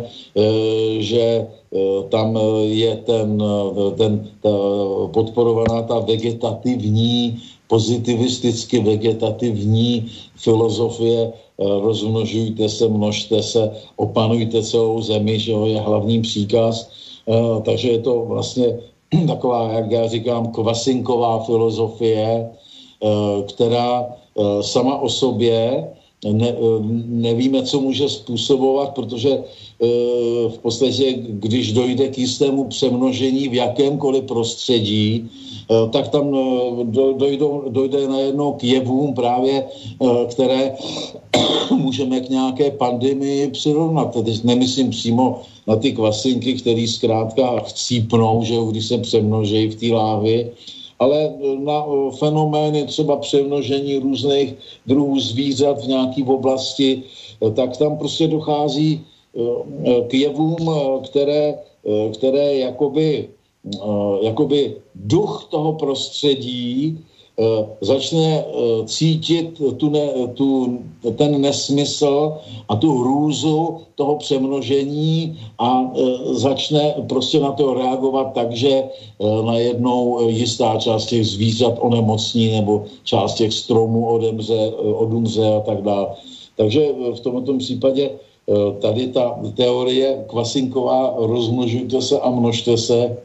že tam je ten, ten ta podporovaná ta vegetativní, pozitivisticky vegetativní filozofie, rozmnožujte se, množte se, opanujte celou zemi, že jo, je hlavní příkaz. Takže je to vlastně taková, jak já říkám, kvasinková filozofie, která sama o sobě ne, nevíme, co může způsobovat, protože v podstatě, když dojde k jistému přemnožení v jakémkoliv prostředí, tak tam dojde, dojde najednou k jevům právě, které můžeme k nějaké pandemii přirovnat. Teď nemyslím přímo na ty kvasinky, které zkrátka chcípnou, že když se přemnoží v té láhvi, ale na fenomény třeba přemnožení různých druhů zvířat v nějaké oblasti, tak tam prostě dochází k jevům, které, které jakoby, jakoby duch toho prostředí začne cítit tu ne, tu, ten nesmysl a tu hrůzu toho přemnožení a začne prostě na to reagovat tak, že najednou jistá část těch zvířat onemocní nebo část těch stromů odemře, odumře a tak dále. Takže v tomto případě tady ta teorie kvasinková rozmnožujte se a množte se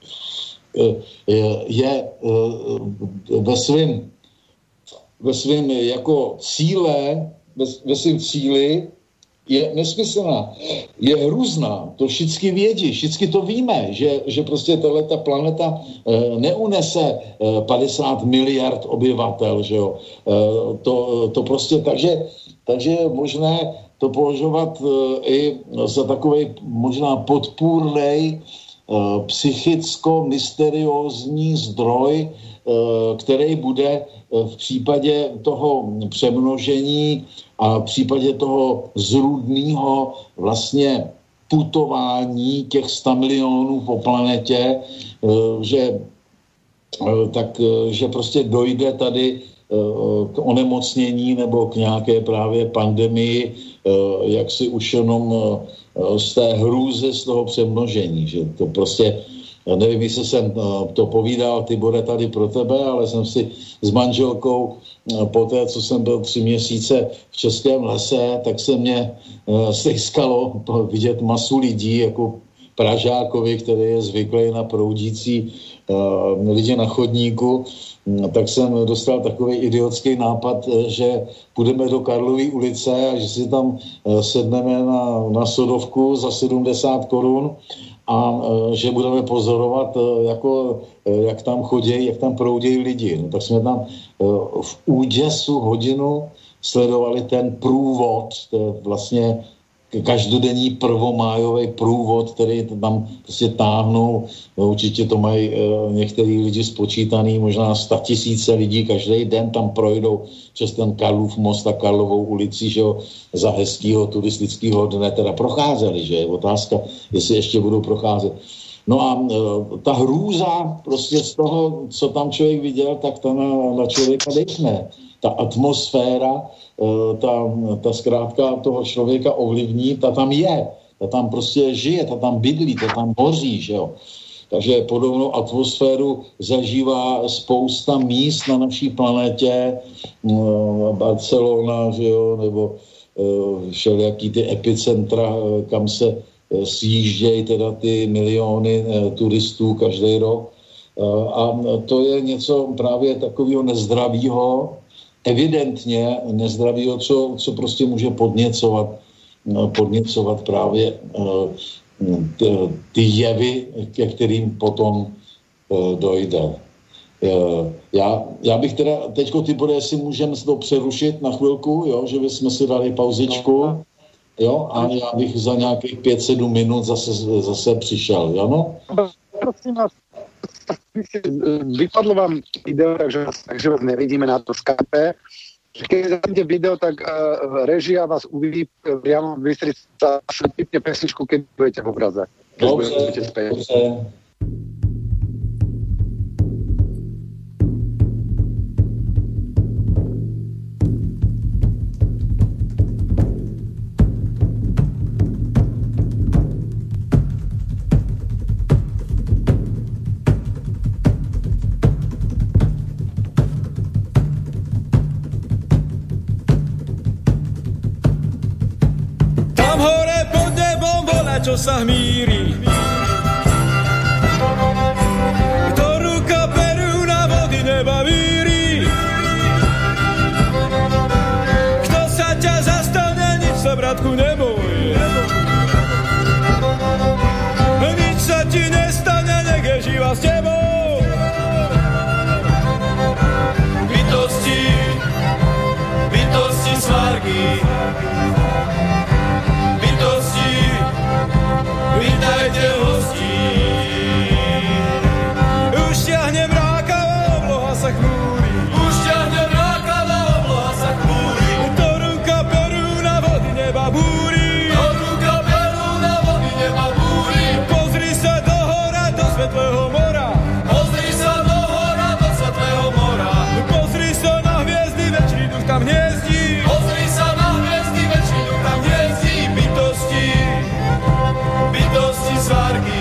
je ve svém ve svém jako cíle, ve, ve svém cíli je nesmyslná, je hrůzná, to všichni vědí, všichni to víme, že, že prostě tato planeta neunese padesát miliard obyvatel, že jo, to, to prostě, takže, takže je možné to považovat i za takovej možná podpůrnej psychicko-mysteriózní zdroj, který bude v případě toho přemnožení a v případě toho zrůdného vlastně putování těch sta milionů po planetě, že, tak, že prostě dojde tady k onemocnění nebo k nějaké právě pandemii, jak si už jenom z té hrůzy, z toho přemnožení, že to prostě, nevím, jestli jsem to povídal, Tibore, tady pro tebe, ale jsem si s manželkou po té, co jsem byl tři měsíce v Českém lese, tak se mě stejskalo vidět masu lidí, jako Pražákovi, který je zvyklý na proudící lidi na chodníku, tak jsem dostal takový idiotský nápad, že půjdeme do Karlovy ulice a že si tam sedneme na, na sodovku za sedmdesát korun a že budeme pozorovat, jako, jak tam chodí, jak tam proudějí lidi. No, tak jsme tam v úděsu hodinu sledovali ten průvod, to je vlastně každodenní prvomájový průvod, který tam prostě táhnou. No, určitě to mají některý lidi spočítaný, možná statisíce lidí každý den tam projdou přes ten Karlův most a Karlovou ulici, že jo, za hezkýho turistického dne teda procházeli, že je otázka, jestli ještě budou procházet. No a ta hrůza prostě z toho, co tam člověk viděl, tak ta na, na člověka dechne. Ta atmosféra, ta, ta zkrátka toho člověka ovlivní, ta tam je, ta tam prostě žije, ta tam bydlí, ta tam hoří, že jo. Takže podobnou atmosféru zažívá spousta míst na naší planetě, Barcelona, že jo, nebo všelijaký ty epicentra, kam se sjíždějí teda ty miliony turistů každý rok. A to je něco právě takového nezdravého, evidentně nezdravého, co, co prostě může podněcovat, podněcovat právě ty jevy, ke kterým potom dojde. Já, já bych teda, teďko ty bude, jestli můžeme to přerušit na chvilku, jo, že bychom si dali pauzičku, jo, a já bych za nějakých pět sedm minut zase, zase přišel, jo, no? Prosím vás, vypadlo vám video, takže, takže vás nevidíme na to Skype. Keď zájdete video, tak uh, režia vás uvidí priamo vystrieť sa vypne pesničku, keď budete v obraze. Dobře, dobře. Čo sa hmíri, ktorú kaperu na vody neba víri. Kto sa ťa zastane, nič sa, bratku, neboj. Nič sa ti nestane, nech je živa s tebou. Bytosti, bytosti svargy, vítajte hostí. Už ťahne mrákavá obloha sa chmúri. Už ťahne mrákavá obloha sa chmúri. Ktorú kaperu na vody neba búri. Ktorú kaperu na vody neba búri. Pozri sa do hora, do svetlého mora. Pozri sa do hora, do svetlého mora. Pozri sa na hviezdy, večný duch tam hniezdí. Pozri sa na hviezdy, večný duch tam hniezdí. Bytosti, bytosti svargy,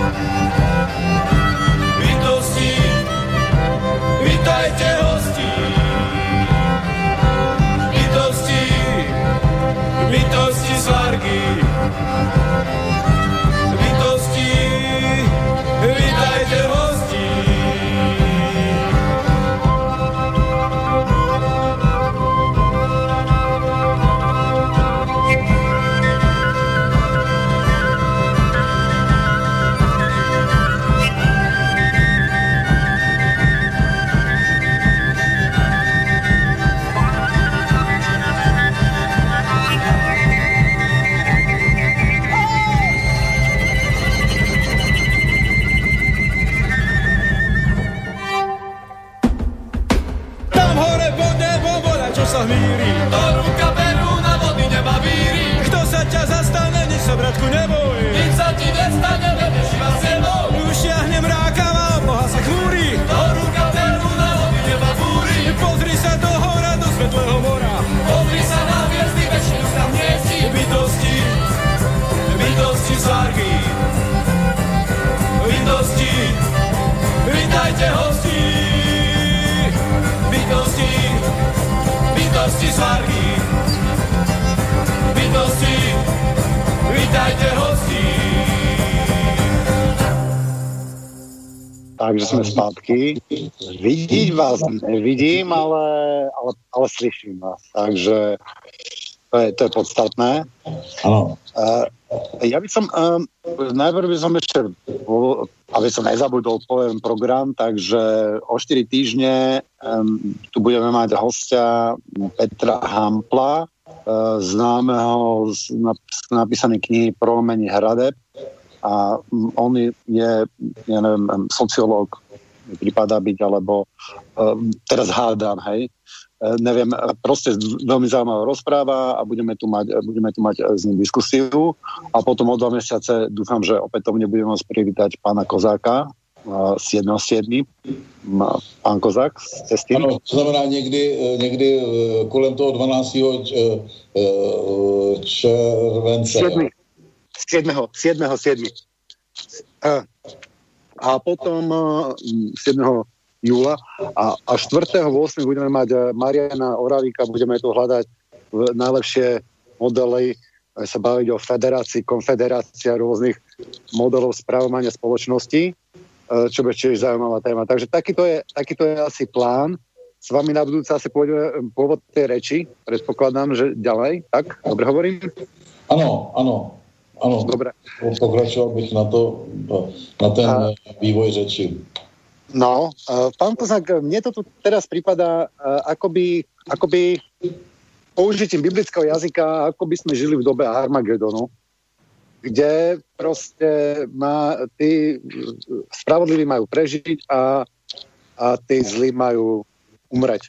bytosti, vítajte hostí. Bytosti, bytosti svargy, bytosti, vítajte hostí. Ktorú kaperu na vody neba víri. Kto sa ťa zastane, nič sa, bratku, neboj. Nič sa ti nestane, nebeš iba s tebou. Už ťahne mrákavá obloha sa chmúri. Ktorú kaperu na vody neba búri. Pozri sa do hora, do svetlého mora. Pozri sa na hviezdy, večný duch tam hniezdi. Bytosti, bytosti svargy, bytosti, vítajte hostí. Bytosti, bytosti svargy, bytosti, vítajte hostí. Takže sme zpátky. Vidieť vás nevidím, ale, ale, ale slyším vás. Takže To je, to je podstatné. Áno. Uh, ja by som, um, najprv by som ešte, aby som nezabudol, poviem program, takže o štyri týždne um, tu budeme mať hostia Petra Hampla, uh, známeho z, z napísanej knihy Prolomenie hradeb. A on je, ja neviem, sociológ, mi prípada byť, alebo um, teraz hádam, hej, uh, neviem, proste veľmi zaujímavé rozpráva a budeme tu mať, budeme tu mať s ním diskusiu a potom o dva mesiace dúfam, že opätovne budeme môcť privítať pána Kozáka, uh, siedmeho siedmeho Pán Kozák z cesty. Ano, to znamená někdy, někdy kolem toho dvanáctého července. siedmeho siedmeho A potom siedmeho júla a, a štvrtého ôsmeho budeme mať Mariana Oravíka, budeme tu hľadať najlepšie modely, sa baviť o federácii, konfederácia rôznych modelov správovania spoločnosti, čo bude tiež zaujímavá téma. Takže takýto je, takýto je asi plán. S vami na budúce asi pôjdeme pôvod tej reči. Predpokladám, že ďalej. Tak? Dobre hovorím? Áno, áno. Áno, dobre. Pokračoval bych na to, na ten a, vývoj řeči. No, uh, pán Kozák, mne to tu teraz prípada uh, akoby, akoby použitím biblického jazyka, ako by sme žili v dobe Armagedonu, kde proste má, tí spravodliví majú prežiť a, a tí zlí majú umreť.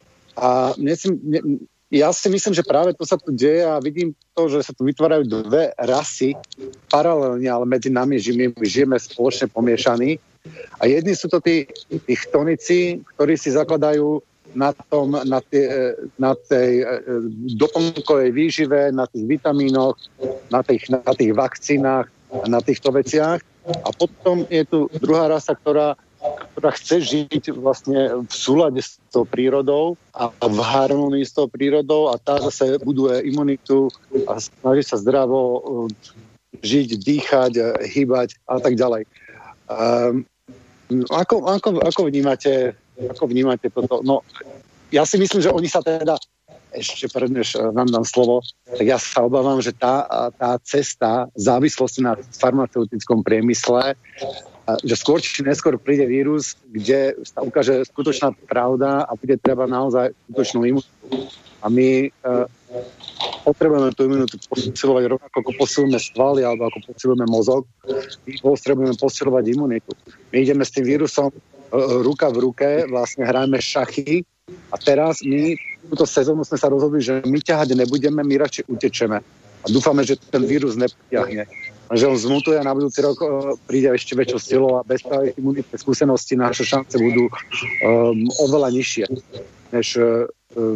A mne si, mne, ja si myslím, že práve to sa tu deje a vidím to, že sa tu vytvárajú dve rasy paralelne, ale medzi nami žijeme, žijeme spoločne pomiešaní. A jedni sú to tí, tí chtonici, ktorí si zakladajú na, tom, na, tie, na tej doplnkovej výžive, na tých vitamínoch, na tých, na tých vakcínach, na týchto veciach. A potom je tu druhá rasa, ktorá ktorá chce žiť vlastne v súlade s tou prírodou a v harmonii s tou prírodou a tá zase buduje imunitu a snaží sa zdravo žiť, dýchať, hýbať a tak ďalej. Um, ako, ako, ako vnímate ako vnímate toto? No, ja si myslím, že oni sa teda ešte prednež vám dám slovo, tak ja sa obávam, že tá, tá cesta závislosti na farmaceutickom priemysle, že skôr či neskôr príde vírus, kde sa ukáže skutočná pravda a bude treba naozaj skutočnú imunitu. A my uh, potrebujeme tú imunitu posilovať rovnako ako posilujeme svaly alebo ako posilujeme mozog. My potrebujeme posilovať imunitu. My ideme s tým vírusom uh, ruka v ruke, vlastne hrajeme šachy a teraz my túto sezónu sme sa rozhodli, že my ťahať nebudeme, my radšej utečeme. A dúfame, že ten vírus nepotiahne. Že on zmutuje a na budúci rok uh, príde ešte väčšou silou a bez práve imunitné skúsenosti naše šance budú um, oveľa nižšie, než, uh,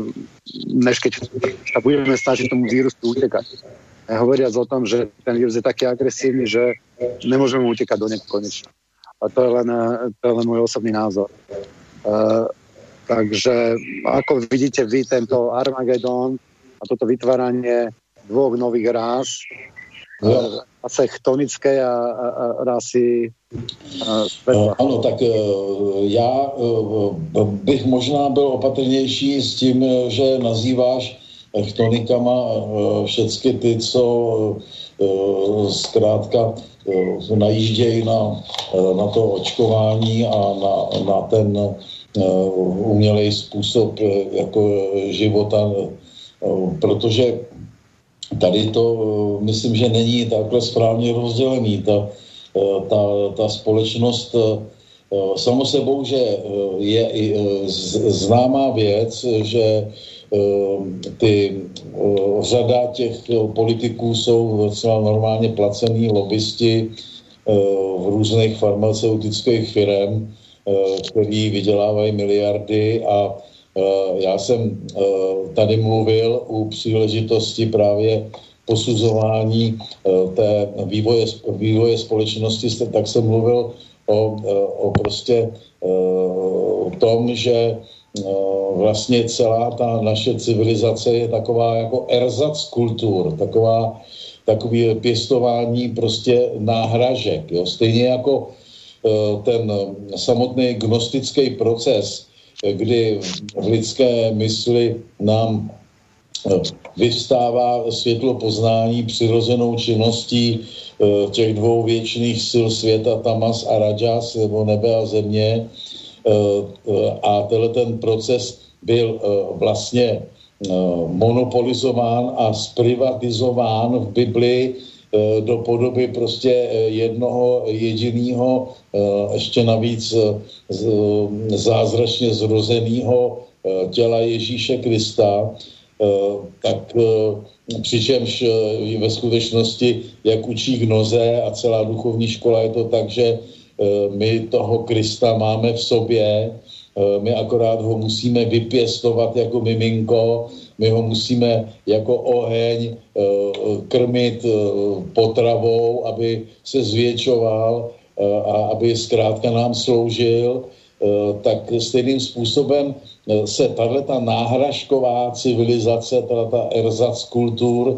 než keď sa budeme snažiť tomu vírusu utekať. Hovoriac o tom, že ten vírus je taký agresívny, že nemôžeme utekať do nekonečna. A to je len, to je len môj osobný názor. Uh, takže ako vidíte vy tento Armagedon a toto vytváranie dvoch nových rás, no. Asi chtonické a, a, a rasy světla. Ano, tak já bych možná byl opatrnější s tím, že nazýváš chtonikama všechny ty, co zkrátka najíždějí na, na to očkování a na, na ten umělej způsob jako života, protože tady to, myslím, že není takhle správně rozdělený. Ta, ta, ta společnost, samo sebou, že je známá věc, že ty řada těch politiků jsou docela normálně placený lobbysti v různých farmaceutických firm, který vydělávají miliardy a já jsem tady mluvil u příležitosti právě posuzování té vývoje, vývoje společnosti, tak jsem mluvil o, o prostě o tom, že vlastně celá ta naše civilizace je taková jako erzac kultur, taková, takový pěstování prostě náhražek. Jo? Stejně jako ten samotný gnostický proces, kdy v lidské mysli nám vyvstává světlo poznání přirozenou činností těch dvou věčných sil světa, Tamas a Rajas, nebo nebe a země. A tenhle ten proces byl vlastně monopolizován a zprivatizován v Biblii do podoby prostě jednoho jediného, ještě navíc zázračně zrozeného těla Ježíše Krista, tak přičemž ve skutečnosti, jak učí Gnoze a celá duchovní škola, je to tak, že my toho Krista máme v sobě, my akorát ho musíme vypěstovat jako miminko, my ho musíme jako oheň krmit potravou, aby se zvětšoval a aby zkrátka nám sloužil, tak stejným způsobem se tato náhražková civilizace, tato erzac kultur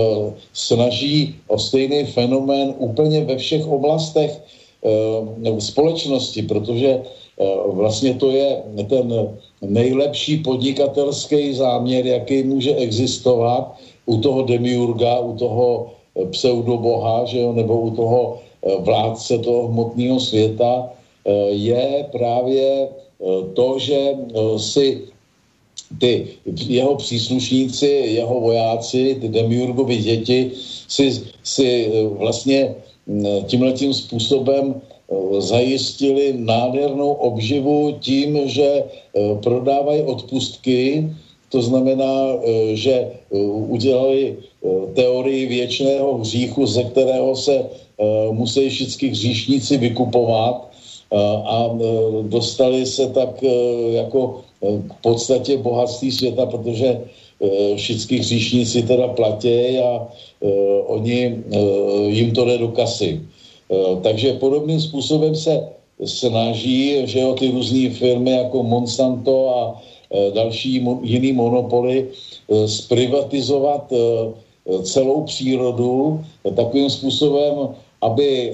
snaží o stejný fenomén úplně ve všech oblastech společnosti, protože vlastně to je ten nejlepší podnikatelský záměr, jaký může existovat u toho demiurga, u toho pseudoboha, že jo, nebo u toho vládce toho hmotného světa, je právě to, že si ty jeho příslušníci, jeho vojáci, ty demiurgovi děti si, si vlastně tímhletím způsobem zajistili nádhernou obživu tím, že prodávají odpustky, to znamená, že udělali teorii věčného hříchu, ze kterého se musí všichni hříšníci vykupovat a dostali se tak jako k podstatě bohatství světa, protože všichni hříšníci teda platí a oni, jim to jde do kasy. Takže podobným způsobem se snaží, že jo, ty různé firmy jako Monsanto a další jiný monopoly zprivatizovat celou přírodu takovým způsobem, aby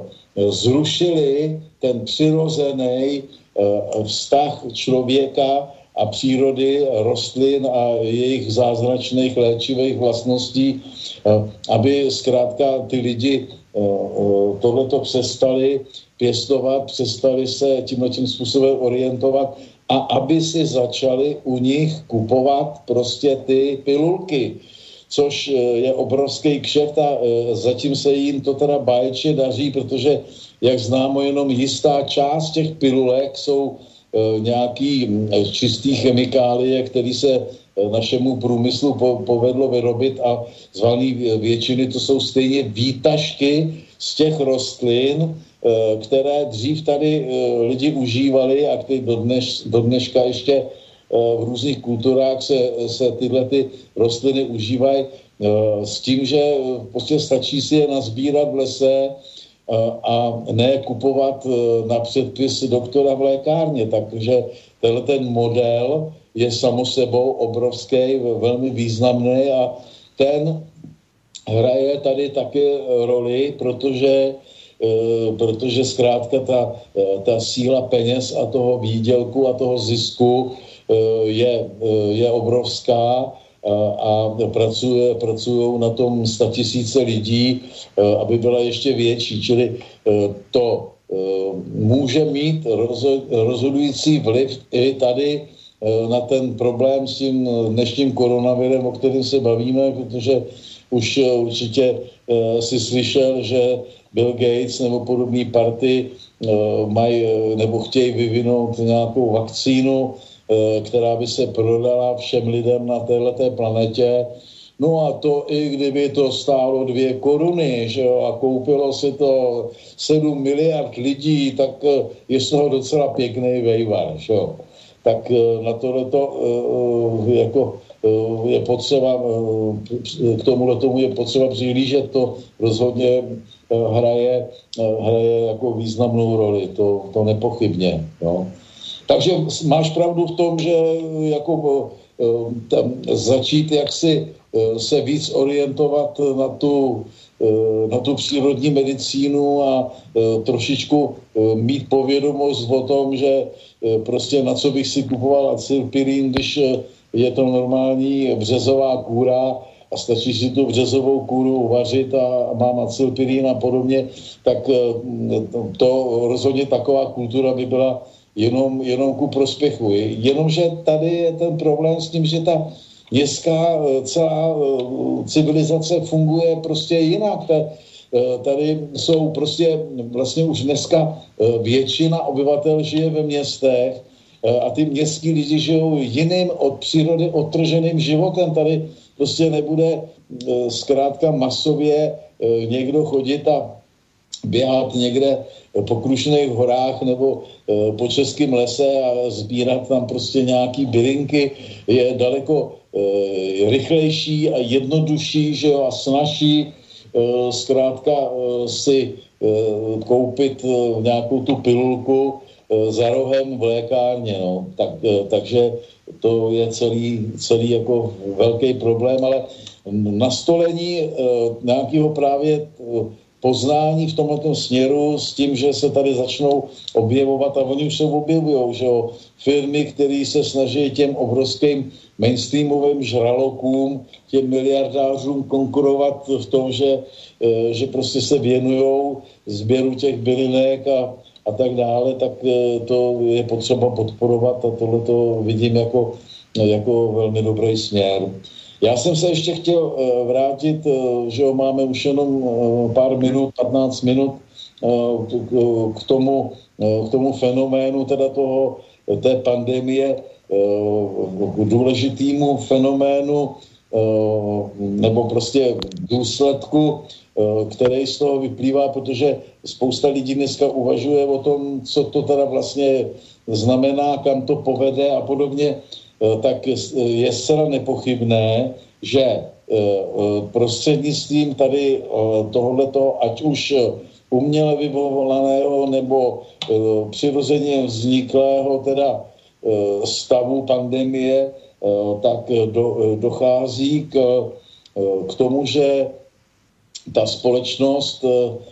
zrušili ten přirozený vztah člověka a přírody, rostlin a jejich zázračných léčivých vlastností, aby zkrátka ty lidi tohleto přestali pěstovat, přestali se tímhletím způsobem orientovat a aby si začali u nich kupovat prostě ty pilulky, což je obrovský kšeft a zatím se jim to teda báječně daří, protože jak známo, jenom jistá část těch pilulek jsou nějaký čistý chemikálie, který se našemu průmyslu povedlo vyrobit a z valné většiny to jsou stejně výtažky z těch rostlin, které dřív tady lidi užívali a které do, dneš, do dneška ještě v různých kulturách se, se tyhle ty rostliny užívají s tím, že prostě stačí si je nazbírat v lese a ne kupovat na předpis doktora v lékárně. Takže tenhle ten model je samo sebou obrovský, velmi významný a ten hraje tady také roli, protože, protože zkrátka ta, ta síla peněz a toho výdělku a toho zisku je, je obrovská a pracuje, pracují na tom statisíce lidí, aby byla ještě větší. Čili to může mít rozhodující vliv i tady na ten problém s tím dnešním koronavirem, o kterém se bavíme, protože už určitě si slyšel, že Bill Gates nebo podobný party mají nebo chtějí vyvinout nějakou vakcínu, která by se prodala všem lidem na téhleté planetě. No a to i kdyby to stálo dvě koruny, že jo, a koupilo si to sedm miliard lidí, tak je z toho docela pěkný vejvar, že jo. Tak na tohleto jako je potřeba, k tomuhle tomu je potřeba přihlížet, to rozhodně hraje, hraje jako významnou roli, to, to nepochybně, jo. Takže máš pravdu v tom, že jako tam začít jaksi se víc orientovat na tu, na tu přírodní medicínu a trošičku mít povědomost o tom, že prostě na co bych si kupoval acylpirín, když je to normální březová kůra a stačí si tu březovou kůru uvařit a mám acylpirín a podobně, tak to rozhodně taková kultura by byla jenom, jenom ku prospěchu. Jenomže tady je ten problém s tím, že ta městská celá civilizace funguje prostě jinak. Tady jsou prostě vlastně už dneska většina obyvatel žije ve městech a ty městský lidi žijou jiným od přírody odtrženým životem. Tady prostě nebude zkrátka masově někdo chodit a běhat někde po Krušných horách nebo po Českém lese a sbírat tam prostě nějaký bylinky. Je daleko rychlejší a jednodušší, že jo, a snazší zkrátka si koupit nějakou tu pilulku za rohem v lékárně, no. Tak, takže to je celý, celý jako velký problém, ale nastolení nějakého právě poznání v tomto směru s tím, že se tady začnou objevovat a oni už se objevujou, že jo, firmy, které se snaží těm obrovským mainstreamovým žralokům, těm miliardářům konkurovat v tom, že, že prostě se věnujou sběru těch bylinek a, a tak dále, tak to je potřeba podporovat a tohle to vidím jako, jako velmi dobrý směr. Já jsem se ještě chtěl vrátit, že jo, máme už jenom pár minut, patnáct minut k tomu, k tomu fenoménu teda toho, té pandemie, k důležitému fenoménu nebo prostě důsledku, který z toho vyplývá, protože spousta lidí dneska uvažuje o tom, co to teda vlastně znamená, kam to povede a podobně, tak je zcela nepochybné, že prostřednictvím tady tohoto, ať už uměle vyvolaného nebo přirozeně vzniklého teda stavu pandemie, tak do, dochází k, k tomu, že ta společnost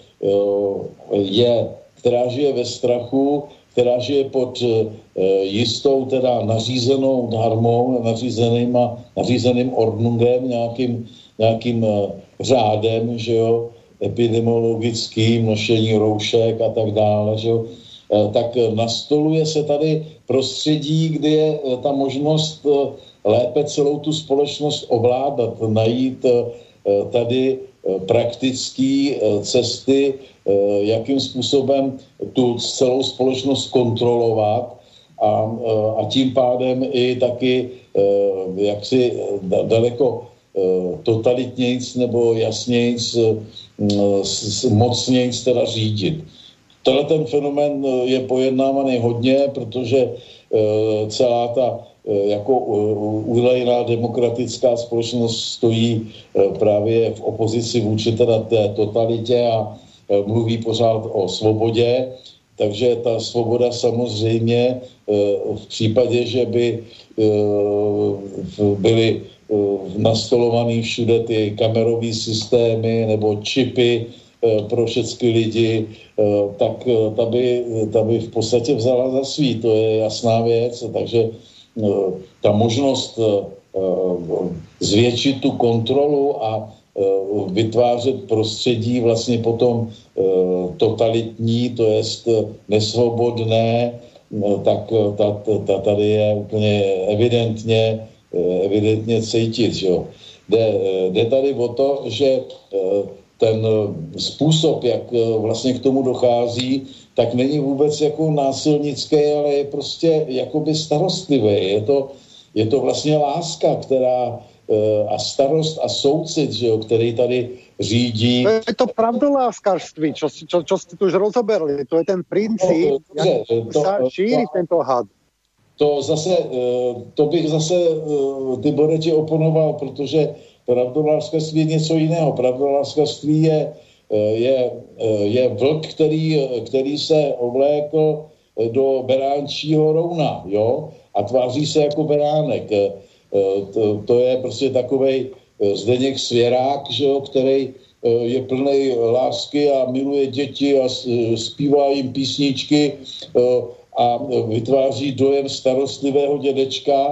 je, která žije ve strachu, která žije pod jistou teda nařízenou dharmou, nařízeným, nařízeným ordnungem, nějakým, nějakým řádem, že jo, epidemiologickým, nošení roušek a tak dále, že jo, tak nastoluje se tady prostředí, kde je ta možnost lépe celou tu společnost ovládat, najít tady praktické cesty, jakým způsobem tu celou společnost kontrolovat a, a tím pádem i taky jaksi daleko totalitnějc nebo jasnějc, mocnějc teda řídit. Tenhle ten fenomén je pojednávaný hodně, protože celá ta jako údajná demokratická společnost stojí právě v opozici vůči teda té totalitě a mluví pořád o svobodě, takže ta svoboda samozřejmě v případě, že by byly nastolovaný všude ty kamerové systémy nebo čipy pro všechny lidi, tak ta by, ta by v podstatě vzala za svý, to je jasná věc, takže ta možnost zvětšit tu kontrolu a vytvářet prostředí vlastně potom totalitní, to jest nesvobodné, tak ta, ta, tady je úplně evidentně, evidentně cítit. Že jo. Jde, jde tady o to, že ten způsob, jak vlastně k tomu dochází, tak není vůbec jako násilnický, ale je prostě jakoby starostlivý. Je to, je to vlastně láska, která a starost a soucit, že jo, který tady řídí. To je to pravdoláskařství, čo, čo, čo ste tu už rozoberli. To je ten princíp, no, jak to, sa šíri to, tento had. To zase, to bych zase Tibore ti oponoval, protože pravdoláskařství je něco jiného. Pravdoláskařství je, je, je vlk, který, který se oblékl do beránčího rouna, jo, a tváří se jako beránek. To, to je prostě takovej Zdeněk Svěrák, že jo, který je plnej lásky a miluje děti a zpívá jim písničky a vytváří dojem starostlivého dědečka a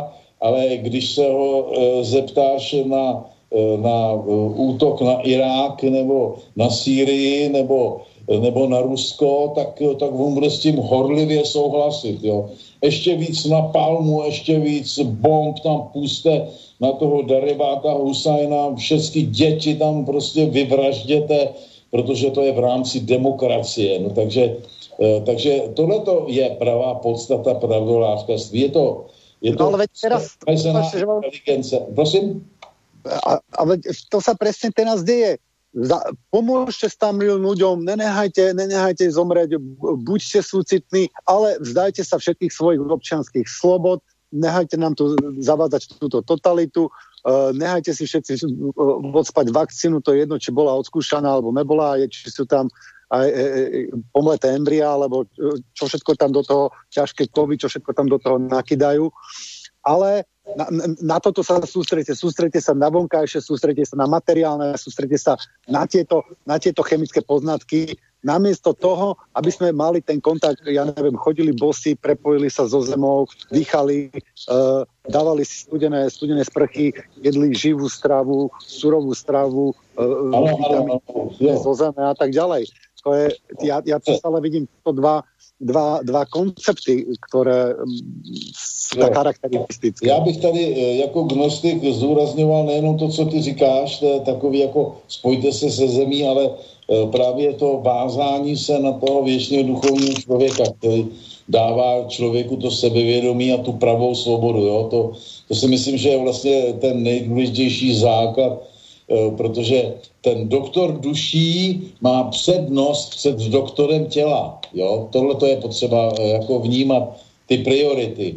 ale když se ho zeptáš na, na útok na Irák nebo na Sýrii nebo, nebo na Rusko, tak, tak on bude s tím horlivě souhlasit. Jo. Ještě víc na palmu, ještě víc bomb tam puste na toho Daribáta Husajna, všechny děti tam prostě vyvražděte, protože to je v rámci demokracie. No, takže, takže tohleto je pravá podstata pravdolářství. Je to, je to no, ale veď teraz, inteligence. Prosím? A, ale to sa presne teraz deje. Za, pomôžte tam ľuďom, nenehajte, nenehajte zomrieť, buďte súcitní, ale vzdajte sa všetkých svojich občianskych slobod, nehajte nám tu zavádzať túto totalitu, uh, nehajte si všetci uh, odspať vakcínu, to je jedno, či bola odskúšaná alebo nebola, je, či sú tam aj e, e, pomleté embria, alebo čo všetko tam do toho, ťažké kovy, čo všetko tam do toho nakydajú. Ale na, na toto sa sústredite. Sústredite sa na vonkajšie, sústredite sa na materiálne, sústredite sa na tieto, na tieto chemické poznatky. Namiesto toho, aby sme mali ten kontakt, ja neviem, chodili bosy, prepojili sa so zemou, dýchali, uh, dávali si studené, studené sprchy, jedli živú stravu, surovú stravu, uh, vitamíny zo zeme a tak ďalej. To je, ja, ja stále vidím to dva, dva, dva koncepty, ktoré sú tak charakteristické. Já bych tady jako gnostik zdůrazňoval nejenom to, co ty říkáš, to je takový jako spojte se se zemí, ale právě to vázání se na toho věčného duchovního člověka, který dává člověku to sebevědomí a tu pravou svobodu. Jo? To, to si myslím, že je vlastně ten nejdůležitější základ, protože ten doktor duší má přednost před doktorem těla. Jo? Tohle to je potřeba jako vnímat ty priority.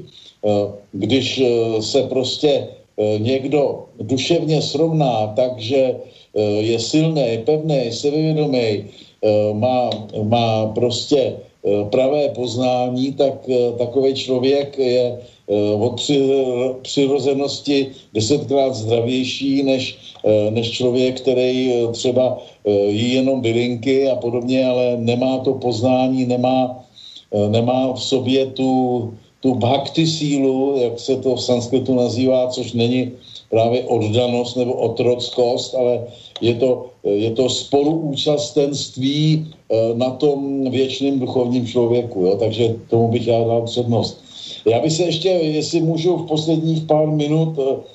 Když se prostě někdo duševně srovná tak, že je silný, pevný, sebevědomý, má, má prostě pravé poznání, tak takový člověk je od přirozenosti desetkrát zdravější než, než člověk, který třeba jí jenom bylinky a podobně, ale nemá to poznání, nemá, nemá v sobě tu, tu bhakti sílu, jak se to v sanskritu nazývá, což není právě oddanost nebo otrockost, ale je to, je to spoluúčastenství na tom věčným duchovním člověku. Jo? Takže tomu bych já dal přednost. Já bych se ještě, jestli můžu v posledních pár minut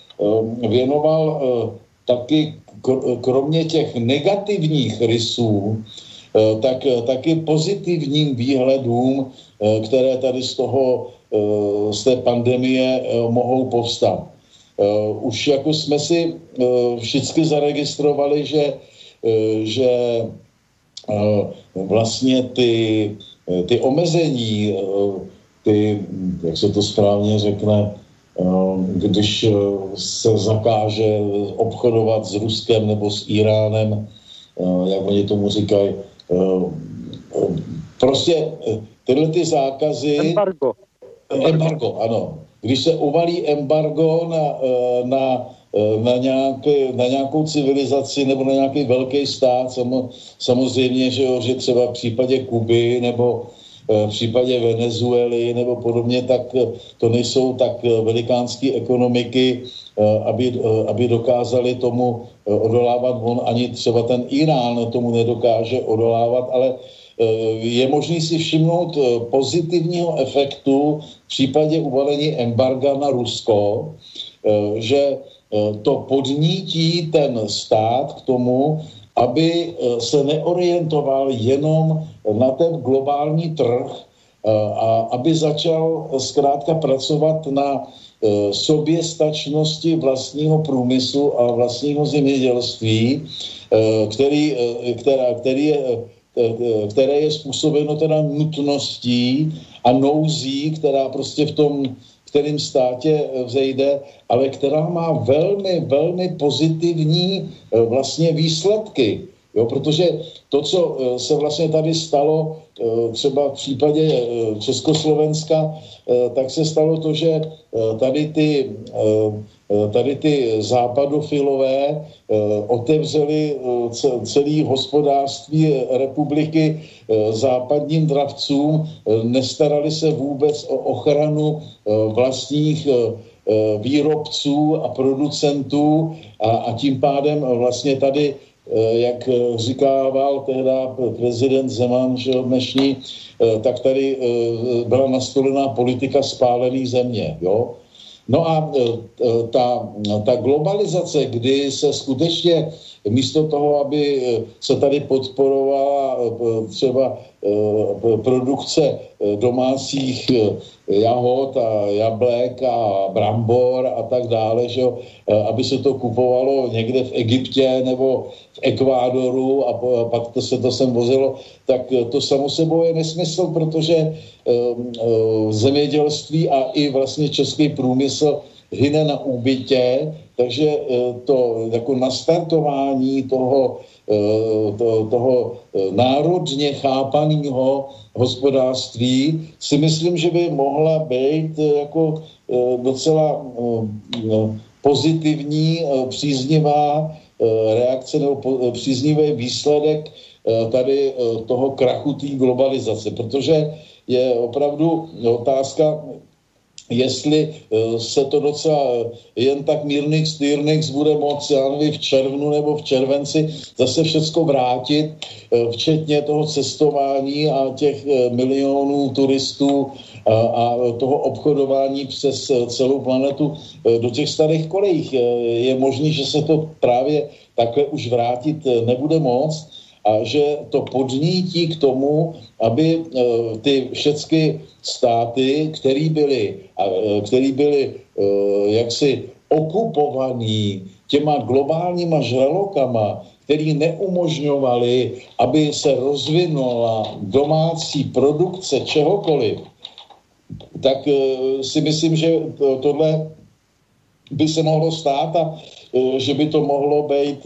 věnoval taky, kromě těch negativních rysů, tak taky pozitivním výhledům, které tady z toho, z té pandemie mohou povstat. Už jako jsme si všichni zaregistrovali, že, že vlastně ty, ty omezení, ty, jak se to správně řekne, když se zakáže obchodovat s Ruskem nebo s Iránem, jak oni tomu říkají, prostě tyhle ty zákazy... Embargo. Embargo, ano. Když se uvalí embargo na, na, na, nějaké, na nějakou civilizaci nebo na nějaký velký stát, samozřejmě, že, jo, že třeba v případě Kuby nebo v případě Venezuely nebo podobně, tak to nejsou tak velikánské ekonomiky, aby, aby dokázali tomu odolávat. On ani třeba ten Irán tomu nedokáže odolávat, ale je možný si všimnout pozitivního efektu v případě uvalení embarga na Rusko, že to podnítí ten stát k tomu, aby se neorientoval jenom na ten globální trh a aby začal zkrátka pracovat na soběstačnosti vlastního průmyslu a vlastního zemědělství, který, která, který je které je způsobeno teda nutností a nouzí, která prostě v tom kterém státě vzejde, ale která má velmi, velmi pozitivní vlastně výsledky. Jo, protože to, co se vlastně tady stalo, třeba v případě Československa, tak se stalo to, že tady ty, tady ty západofilové otevřeli celé hospodářství republiky západním dravcům, nestarali se vůbec o ochranu vlastních výrobců a producentů a, a tím pádem vlastně tady, jak říkával tehda prezident Zeman, že dnešní, tak tady byla nastolená politika spálený země, jo. No a ta, ta globalizace, kdy se skutečně místo toho, aby se tady podporovala třeba produkce domácích jahod a jablek a brambor a tak dále, že aby se to kupovalo někde v Egyptě nebo v Ekvádoru a pak to se to sem vozilo, tak to samo sebou je nesmysl, protože zemědělství a i vlastně český průmysl hyne na úbytě, takže to jako nastartování toho, to, toho národně chápaného hospodářství si myslím, že by mohla být jako docela pozitivní, příznivá reakce nebo příznivý výsledek tady toho krachu té globalizace, protože je opravdu otázka, jestli se to docela jen tak mírných stýrných bude moct, já nevím, v červnu nebo v červenci zase všecko vrátit, včetně toho cestování a těch milionů turistů a, a toho obchodování přes celou planetu do těch starých kolejích. Je možné, že se to právě takhle už vrátit nebude moct a že to podnítí k tomu, aby ty všechny státy, které byly, který byly jaksi okupovaný těma globálníma žralokama, který neumožňovali, aby se rozvinula domácí produkce čehokoliv, tak si myslím, že tohle by se mohlo stát a že by to mohlo být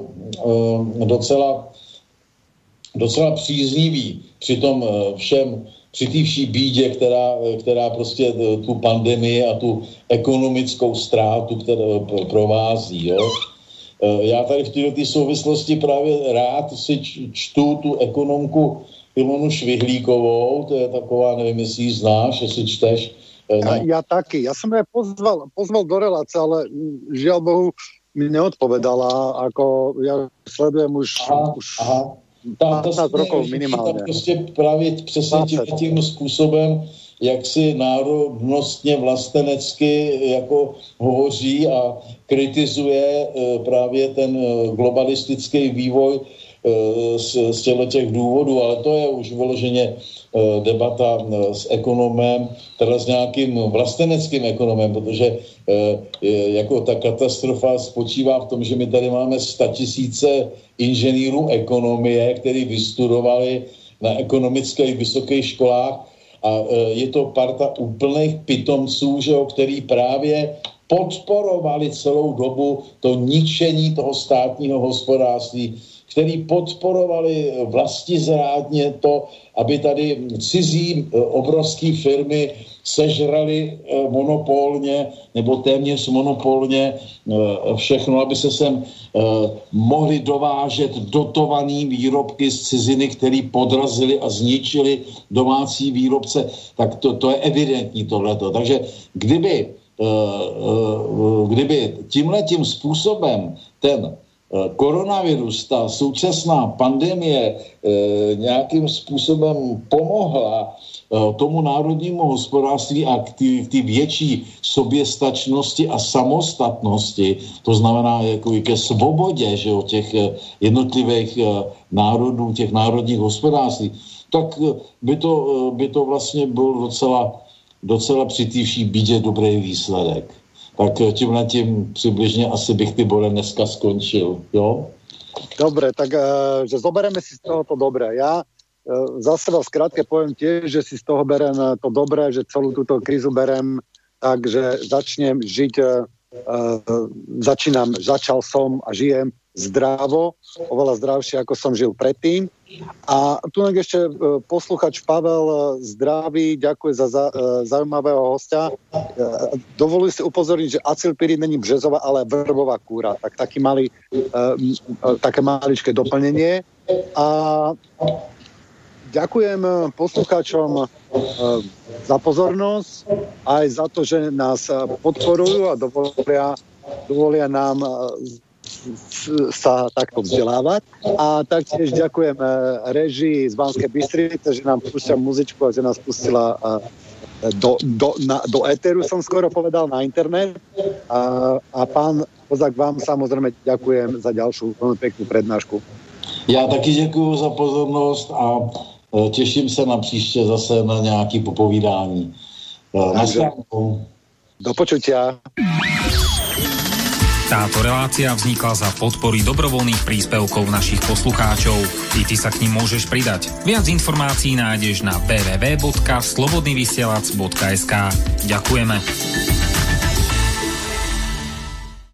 docela docela příznivý při tom všem, při té vší bídě, která, která prostě tu pandemii a tu ekonomickou ztrátu, kterou provází, jo. Já tady v této souvislosti právě rád si čtu tu ekonomku Ilonu Švihlíkovou, to je taková, nevím, jestli ji znáš, jestli čteš. Ja, ja taky, ja som ju pozval, pozval do relácie, ale žiaľ Bohu mi neodpovedala, ako ja sledujem už... Aha, už... aha. Ta, ta rokov minimálně. Prostě právě přesně tím způsobem, jak si národnostně vlastenecky jako hovoří a kritizuje právě ten globalistický vývoj z, z těch důvodů, ale to je už vyloženě debata s ekonomem, teda s nějakým vlasteneckým ekonomem, protože jako ta katastrofa spočívá v tom, že my tady máme statisíce inženýrů ekonomie, kteří vystudovali na ekonomických vysokých školách a je to parta úplných pitomců, že jo, který právě podporovali celou dobu to ničení toho státního hospodářství, který podporovali vlastizrádně to, aby tady cizí obrovské firmy sežrali monopolně nebo téměř monopolně všechno, aby se sem mohli dovážet dotovaný výrobky z ciziny, který podrazili a zničili domácí výrobce, tak to, to je evidentní tohleto. Takže kdyby, kdyby tímhletím způsobem ten koronavirus, ta současná pandemie e, nějakým způsobem pomohla e, tomu národnímu hospodářství a k té větší soběstačnosti a samostatnosti, to znamená jako ke svobodě, že jo, těch jednotlivých e, národů, těch národních hospodářství, tak by to, by to vlastně byl docela, docela při té vší bídě dobrý výsledek. Tak tímhle tím přibližně asi bych ty bole dneska skončil, jo? Dobre, tak že zoberieme si z toho to dobré. Ja za seba v skrátke poviem tiež, že si z toho berem to dobré, že celú túto krízu berem tak, že začnem žiť, začínam, začal som a žijem zdravo, oveľa zdravšie, ako som žil predtým. A tu ešte posluchač Pavel zdraví, ďakuje za, za zaujímavého hostia. Dovoluji si upozorniť, že acylpirín není březová, ale vrbová kúra. Tak taký malý, také maličké doplnenie. A ďakujem poslucháčom za pozornosť, aj za to, že nás podporujú a dovolia, dovolia nám sa takto vzdelávať. A taktiež ďakujem režii z Banskej Bystrice, že nám púšťa muzičku a že nás pustila do, do, na, do éteru, som skoro povedal, na internet. A, a pán Kozák, vám samozrejme ďakujem za ďalšiu veľmi peknú prednášku. Já taky děkuju za pozornost a těším se na příště zase na nějaké popovídání. Naschledanou. Do počutia. Táto relácia vznikla za podpory dobrovoľných príspevkov našich poslucháčov. I ty sa k nim môžeš pridať. Viac informácií nájdeš na w w w bodka slobodnyvysielac bodka es ka. Ďakujeme.